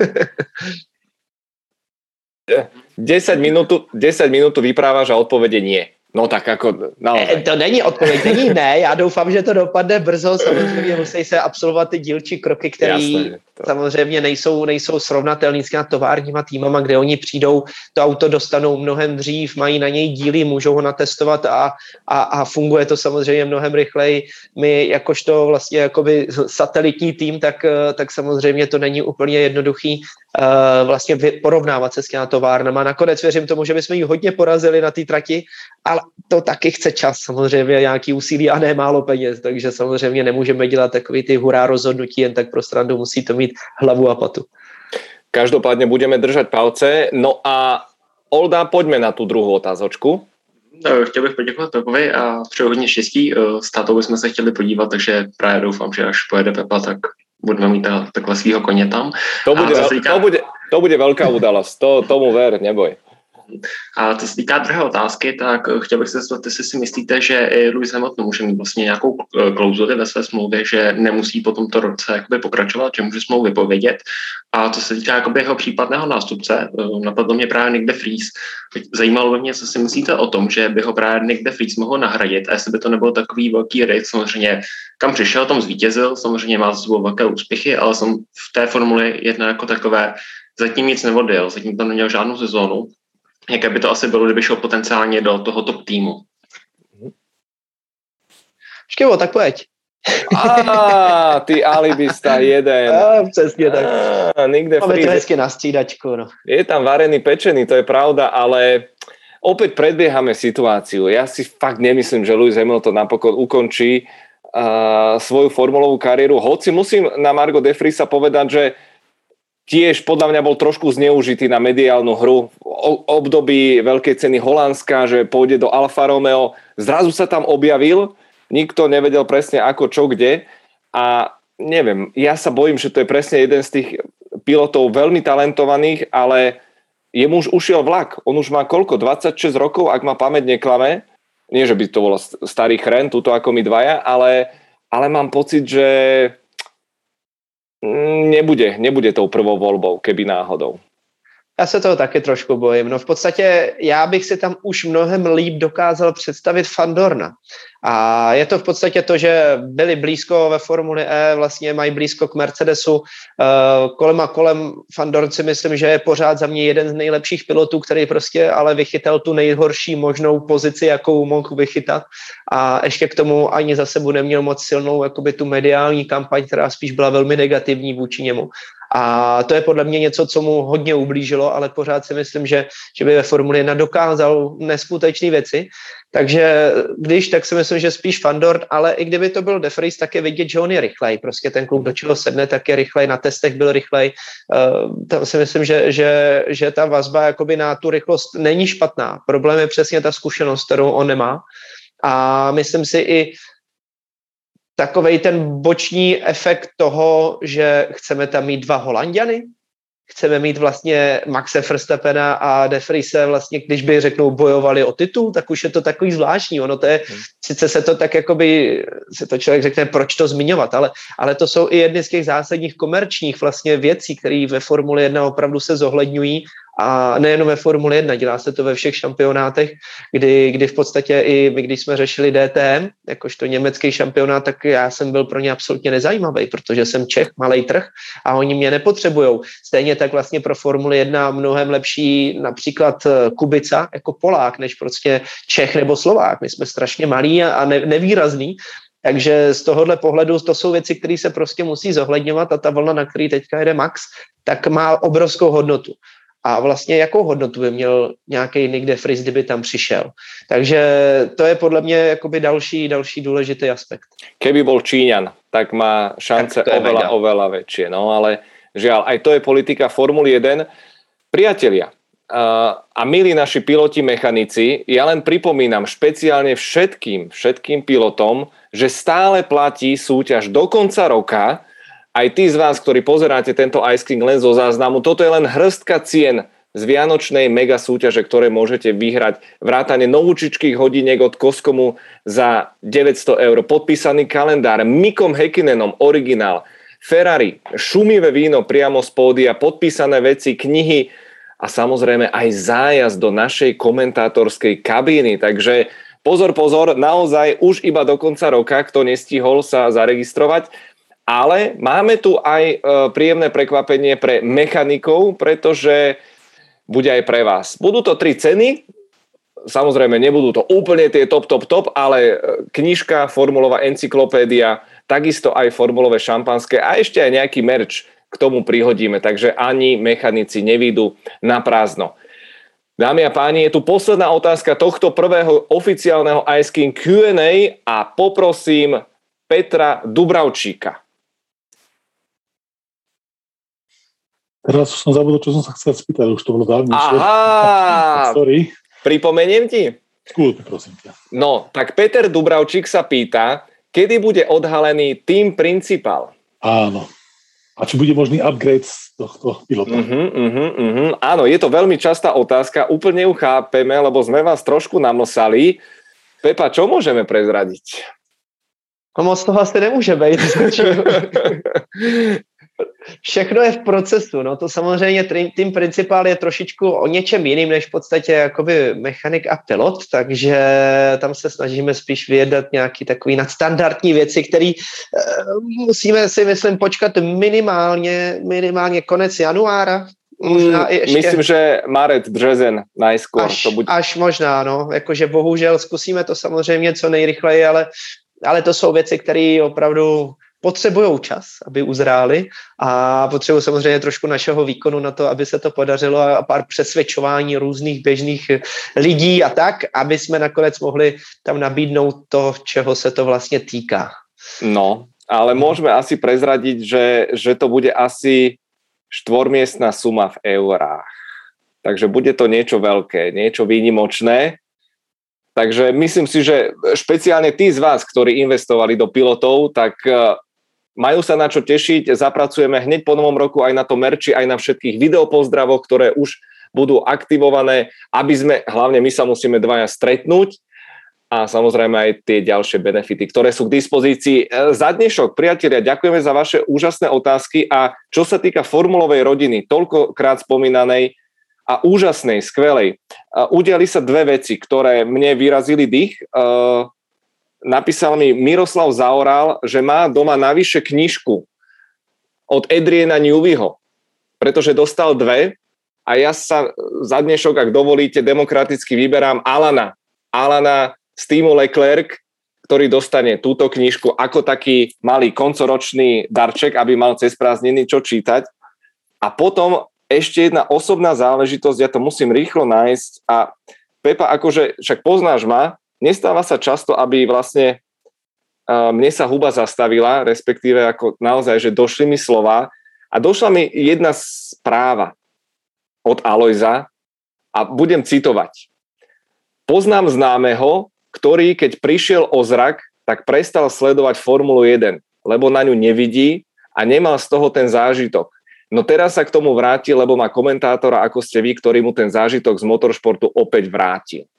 Speaker 1: 10 minút vyprávaš a odpovede nie. No tak jako naozaj.
Speaker 2: To není odpověď, není ne, já doufám, že to dopadne brzo, samozřejmě musí se absolvovat ty dílčí kroky, které samozřejmě nejsou srovnatelný s těma továrníma týmama, kde oni přijdou, to auto dostanou mnohem dřív, mají na něj díly, můžou ho natestovat a funguje to samozřejmě mnohem rychleji. My jakožto vlastně jakoby satelitní tým, tak samozřejmě to není úplně jednoduchý vlastně porovnávat se s těma továrnama. Nakonec věřím tomu, že bychom ji hodně porazili na té trati, ale to taky chce čas, samozřejmě nějaký úsilí a ne málo peněz, takže samozřejmě nemůžeme dělat takový ty hurá rozhodnutí, jen tak pro srandu, musí to mít hlavu a patu.
Speaker 1: Každopádne budeme držať palce. No a Olda, poďme na tú druhou otázočku.
Speaker 10: Chtěl bych poděkovat Pepovi a přeju hodně štěstí. S tátou bychom se chtěli podívat, takže právě doufám, že až pojede Pepa, tak budeme mít takhle svýho koně tam.
Speaker 1: To bude velká udalost, tomu ver, neboj.
Speaker 10: A co se týká druhé otázky, tak chtěl bych se zeptat, jestli si myslíte, že i Lewis Hamilton může mít vlastně nějakou klauzuli ve své smlouvě, že nemusí po tomto roce jakoby pokračovat, že může smlouvu vypovědět. A co se týká jakoby jeho případného nástupce, napadlo mě právě Nick de Vries. Zajímalo by mě, co si myslíte o tom, že by ho právě Nick de Vries mohl nahradit a jestli by to nebyl takový velký risk, samozřejmě kam přišel, tam zvítězil, samozřejmě má za sebou velké úspěchy, ale jsem v té Formuli 1 jako takové zatím nic neodjel, zatím tam neměl žádnou sezónu. Jaké by to asi bylo, kdyby šel potenciálně do toho top týmu?
Speaker 2: Škevo, tak pojď.
Speaker 1: Ty alibista jeden.
Speaker 2: Přesně tak. Máme to hezky na střídačku. No.
Speaker 1: Je tam varený pečený, to je pravda, ale opäť predbiehame situáciu. Ja si fakt nemyslím, že Lewis Hamilton napokon ukončí svoju formulovú kariéru. Hoci musím na Margo de Vriesa povedať, že tiež podľa mňa bol trošku zneužitý na mediálnu hru v období veľkej ceny Holandska, že pôjde do Alfa Romeo. Zrazu sa tam objavil, nikto nevedel presne ako, čo, kde. A neviem, ja sa bojím, že to je presne jeden z tých pilotov veľmi talentovaných, ale jemu už ušiel vlak. On už má koľko? 26 rokov, ak ma pamäť neklame. Nie, že by to bol starý chren, tuto ako my dvaja, ale mám pocit, že nebude tou prvou volbou, keby náhodou.
Speaker 2: Já se toho taky trošku bojím. No v podstatě já bych si tam už mnohem líp dokázal představit Fandorna. A je to v podstatě to, že byli blízko ve Formuli E, vlastně mají blízko k Mercedesu. Kolem Fandorn si myslím, že je pořád za mě jeden z nejlepších pilotů, který prostě ale vychytal tu nejhorší možnou pozici, jakou mohl vychytat. A ještě k tomu ani za sebou neměl moc silnou jakoby tu mediální kampaň, která spíš byla velmi negativní vůči němu. A to je podle mě něco, co mu hodně ublížilo, ale pořád si myslím, že by ve Formuli 1 dokázal neskutečné věci. Takže tak si myslím, že spíš Fandorn, ale i kdyby to byl de Vries, tak je vidět, že on je rychlej. Prostě ten kluk, do čeho sedne, tak je rychlej, na testech byl rychlej. Tam si myslím, že ta vazba jakoby na tu rychlost není špatná. Problém je přesně ta zkušenost, kterou on nemá. A myslím si i takovej ten boční efekt toho, že chceme tam mít dva Holanďany, chceme mít vlastně Maxe Verstappena a de Vriese vlastně, když by řeknou bojovali o titul, tak už je to takový zvláštní. Ono to je, sice se to tak jakoby, se to člověk řekne, proč to zmiňovat, ale to jsou i jedny z těch zásadních komerčních vlastně věcí, které ve Formuli 1 opravdu se zohledňují a nejenom ve Formuli 1, dělá se to ve všech šampionátech, kdy v podstatě i my, když jsme řešili DTM, jakožto německý šampionát, tak já jsem byl pro ně absolutně nezajímavý, protože jsem Čech, malej trh a oni mě nepotřebujou. Stejně tak vlastně pro Formuli 1 mnohem lepší například Kubica jako Polák, než prostě Čech nebo Slovák. My jsme strašně malí a nevýrazný. Takže z tohohle pohledu to jsou věci, které se prostě musí zohledňovat a ta vlna, na který teďka jede Max, tak má obrovskou hodnotu. A vlastně jakou hodnotu by měl nějaký Nick de Vries, kdyby tam přišel. Takže to je podle mě jakoby další důležitý aspekt.
Speaker 1: Keby bol Číňan, tak má šance oveľa väčšie. No ale žiaľ, aj to je politika Formuly 1. Priatelia, a milí naši piloti, mechanici, ja len pripomínam špeciálne všetkým pilotom, že stále platí súťaž do konca roka. Aj tí z vás, ktorí pozeráte tento Ice King len zo záznamu, toto je len hrstka cien z vianočnej mega súťaže, ktoré môžete vyhrať. Vrátane novúčičkých hodiniek od Koskomu za 900 €, podpísaný kalendár, Mikom Häkkinenom originál, Ferrari, šumivé víno priamo z pódia, podpísané veci, knihy a samozrejme aj zájazd do našej komentátorskej kabíny. Takže pozor, naozaj už iba do konca roka, kto nestihol sa zaregistrovať. Ale máme tu aj príjemné prekvapenie pre mechanikov, pretože bude aj pre vás. Budú to 3 ceny, samozrejme nebudú to úplne tie top, ale knižka, formulová encyklopédia, takisto aj formulové šampanské a ešte aj nejaký merch k tomu prihodíme, takže ani mechanici nevídu na prázdno. Dámy a páni, je tu posledná otázka tohto prvého oficiálneho Ice King Q&A a poprosím Petra Dubravčíka.
Speaker 11: Teraz som zabudol, čo som sa chcel spýtať, už to bolo dávnejšie.
Speaker 1: Aha!
Speaker 11: Sorry.
Speaker 1: Pripomeniem ti?
Speaker 11: Skús, prosím ťa.
Speaker 1: No, tak Peter Dubravčík sa pýta, kedy bude odhalený Team Principal?
Speaker 11: Áno. A či bude možný upgrade z tohto pilota?
Speaker 1: Áno, je to veľmi častá otázka, úplne ju chápeme, lebo sme vás trošku namlsali. Pepa, čo môžeme prezradiť?
Speaker 2: No moc toho asi nemůže být. Všechno je v procesu, no to samozřejmě Team Principal je trošičku o něčem jiným, než v podstatě jakoby mechanik a pilot, takže tam se snažíme spíš vyjednat nějaký takový nadstandardní věci, které musíme si, myslím, počkat minimálně konec januára. Možná i ještě.
Speaker 1: Myslím, že marec, březen najskôr.
Speaker 2: Až možná, no, jakože bohužel zkusíme to samozřejmě co nejrychleji, ale to jsou věci, které opravdu potřebují čas, aby uzráli a potřebují samozřejmě trošku našeho výkonu na to, aby se to podařilo a pár přesvědčování různých běžných lidí a tak, aby jsme nakonec mohli tam nabídnout to, čeho se to vlastně týká.
Speaker 1: No, ale môžeme asi prezradiť, že to bude asi 4-miestna suma v eurách. Takže bude to niečo veľké, niečo výnimočné. Takže myslím si, že špeciálne tí z vás, ktorí investovali do pilotov, tak majú sa na čo tešiť. Zapracujeme hneď po novom roku aj na to merči, aj na všetkých videopozdravoch, ktoré už budú aktivované, aby sme, hlavne my sa musíme dvaja stretnúť a samozrejme aj tie ďalšie benefity, ktoré sú k dispozícii. Za dnešok, priatelia, ďakujeme za vaše úžasné otázky a čo sa týka formulovej rodiny, toľkokrát spomínanej a úžasnej, skvelej, udiali sa 2 veci, ktoré mne vyrazili dých. Napísal mi Miroslav Zaoral, že má doma navyše knižku od Adriana Neweyho, pretože dostal 2 a ja sa za dnešok, ak dovolíte, demokraticky vyberám Alana z týmu Leclerc, ktorý dostane túto knižku ako taký malý koncoročný darček, aby mal cez prázdniny čo čítať. A potom ešte jedna osobná záležitosť, ja to musím rýchlo nájsť a Pepa, akože však poznáš ma, nestáva sa často, aby vlastne mne sa huba zastavila, respektíve ako naozaj, že došli mi slova a došla mi jedna správa od Alojza a budem citovať. Poznám známeho, ktorý keď prišiel o zrak, tak prestal sledovať Formulu 1, lebo na ňu nevidí a nemal z toho ten zážitok. No teraz sa k tomu vráti, lebo má komentátora, ako ste vy, ktorý mu ten zážitok z motoršportu opäť vrátil.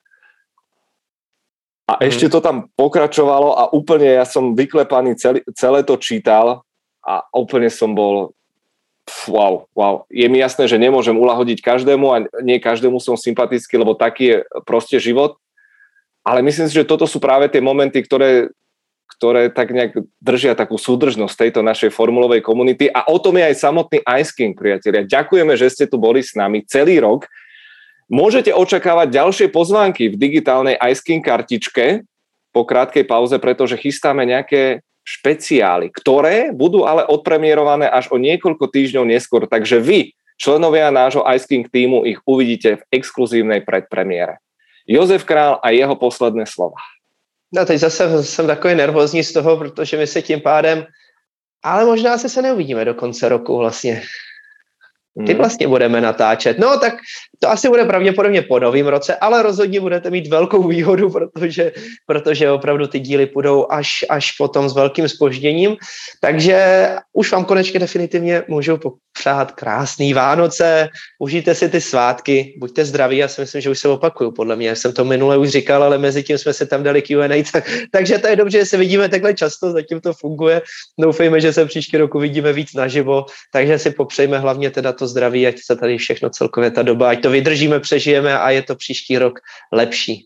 Speaker 1: A ešte to tam pokračovalo a úplne ja som vyklepaný, celé to čítal a úplne som bol wow. Je mi jasné, že nemôžem uľahodiť každému a nie každému som sympatický, lebo taký je proste život. Ale myslím si, že toto sú práve tie momenty, ktoré tak nejak držia takú súdržnosť tejto našej formulovej komunity a o tom je aj samotný Ice King, priatelia. Ďakujeme, že ste tu boli s nami celý rok. Môžete očakávať ďalšie pozvánky v digitálnej Ice King kartičke po krátkej pauze, pretože chystáme nejaké špeciály, ktoré budú ale odpremierované až o niekoľko týždňov neskôr. Takže vy, členovia nášho Ice King týmu, ich uvidíte v exkluzívnej predpremiére. Jozef Král a jeho posledné slova.
Speaker 2: No teď zase jsem takový nervózní z toho, protože my se tím pádem, ale možná se neuvidíme do konce roku vlastně. Ty vlastně budeme natáčet. No tak to asi bude pravděpodobně po novém roce, ale rozhodně budete mít velkou výhodu, protože opravdu ty díly půjdou až potom s velkým zpožděním. Takže už vám konečně definitivně můžu popřát krásný Vánoce, užijte si ty svátky, buďte zdraví, já si myslím, že už se opakuju, podle mě, jsem to minule už říkal, ale mezi tím jsme se tam dali Q&A, takže to je dobře, že se vidíme takhle často, zatím to funguje, doufejme, že se příští roku vidíme víc naživo, takže si popřejme hlavně teda to zdraví, ať se tady všechno celkově ta doba, ať to vydržíme, přežijeme a je to příští rok lepší.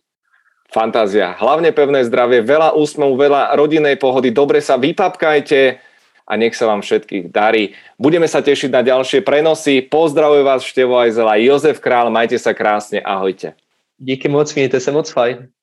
Speaker 1: Fantázia. Hlavne pevné zdravie, veľa úsmevu, veľa rodinnej pohody, dobre sa vypapkajte a nech sa vám všetkých darí. Budeme sa tešiť na ďalšie prenosy. Pozdravujem vás Števo Ajzel a Jozef Král, majte sa krásne, ahojte.
Speaker 2: Díky moc, mějte se moc fajn.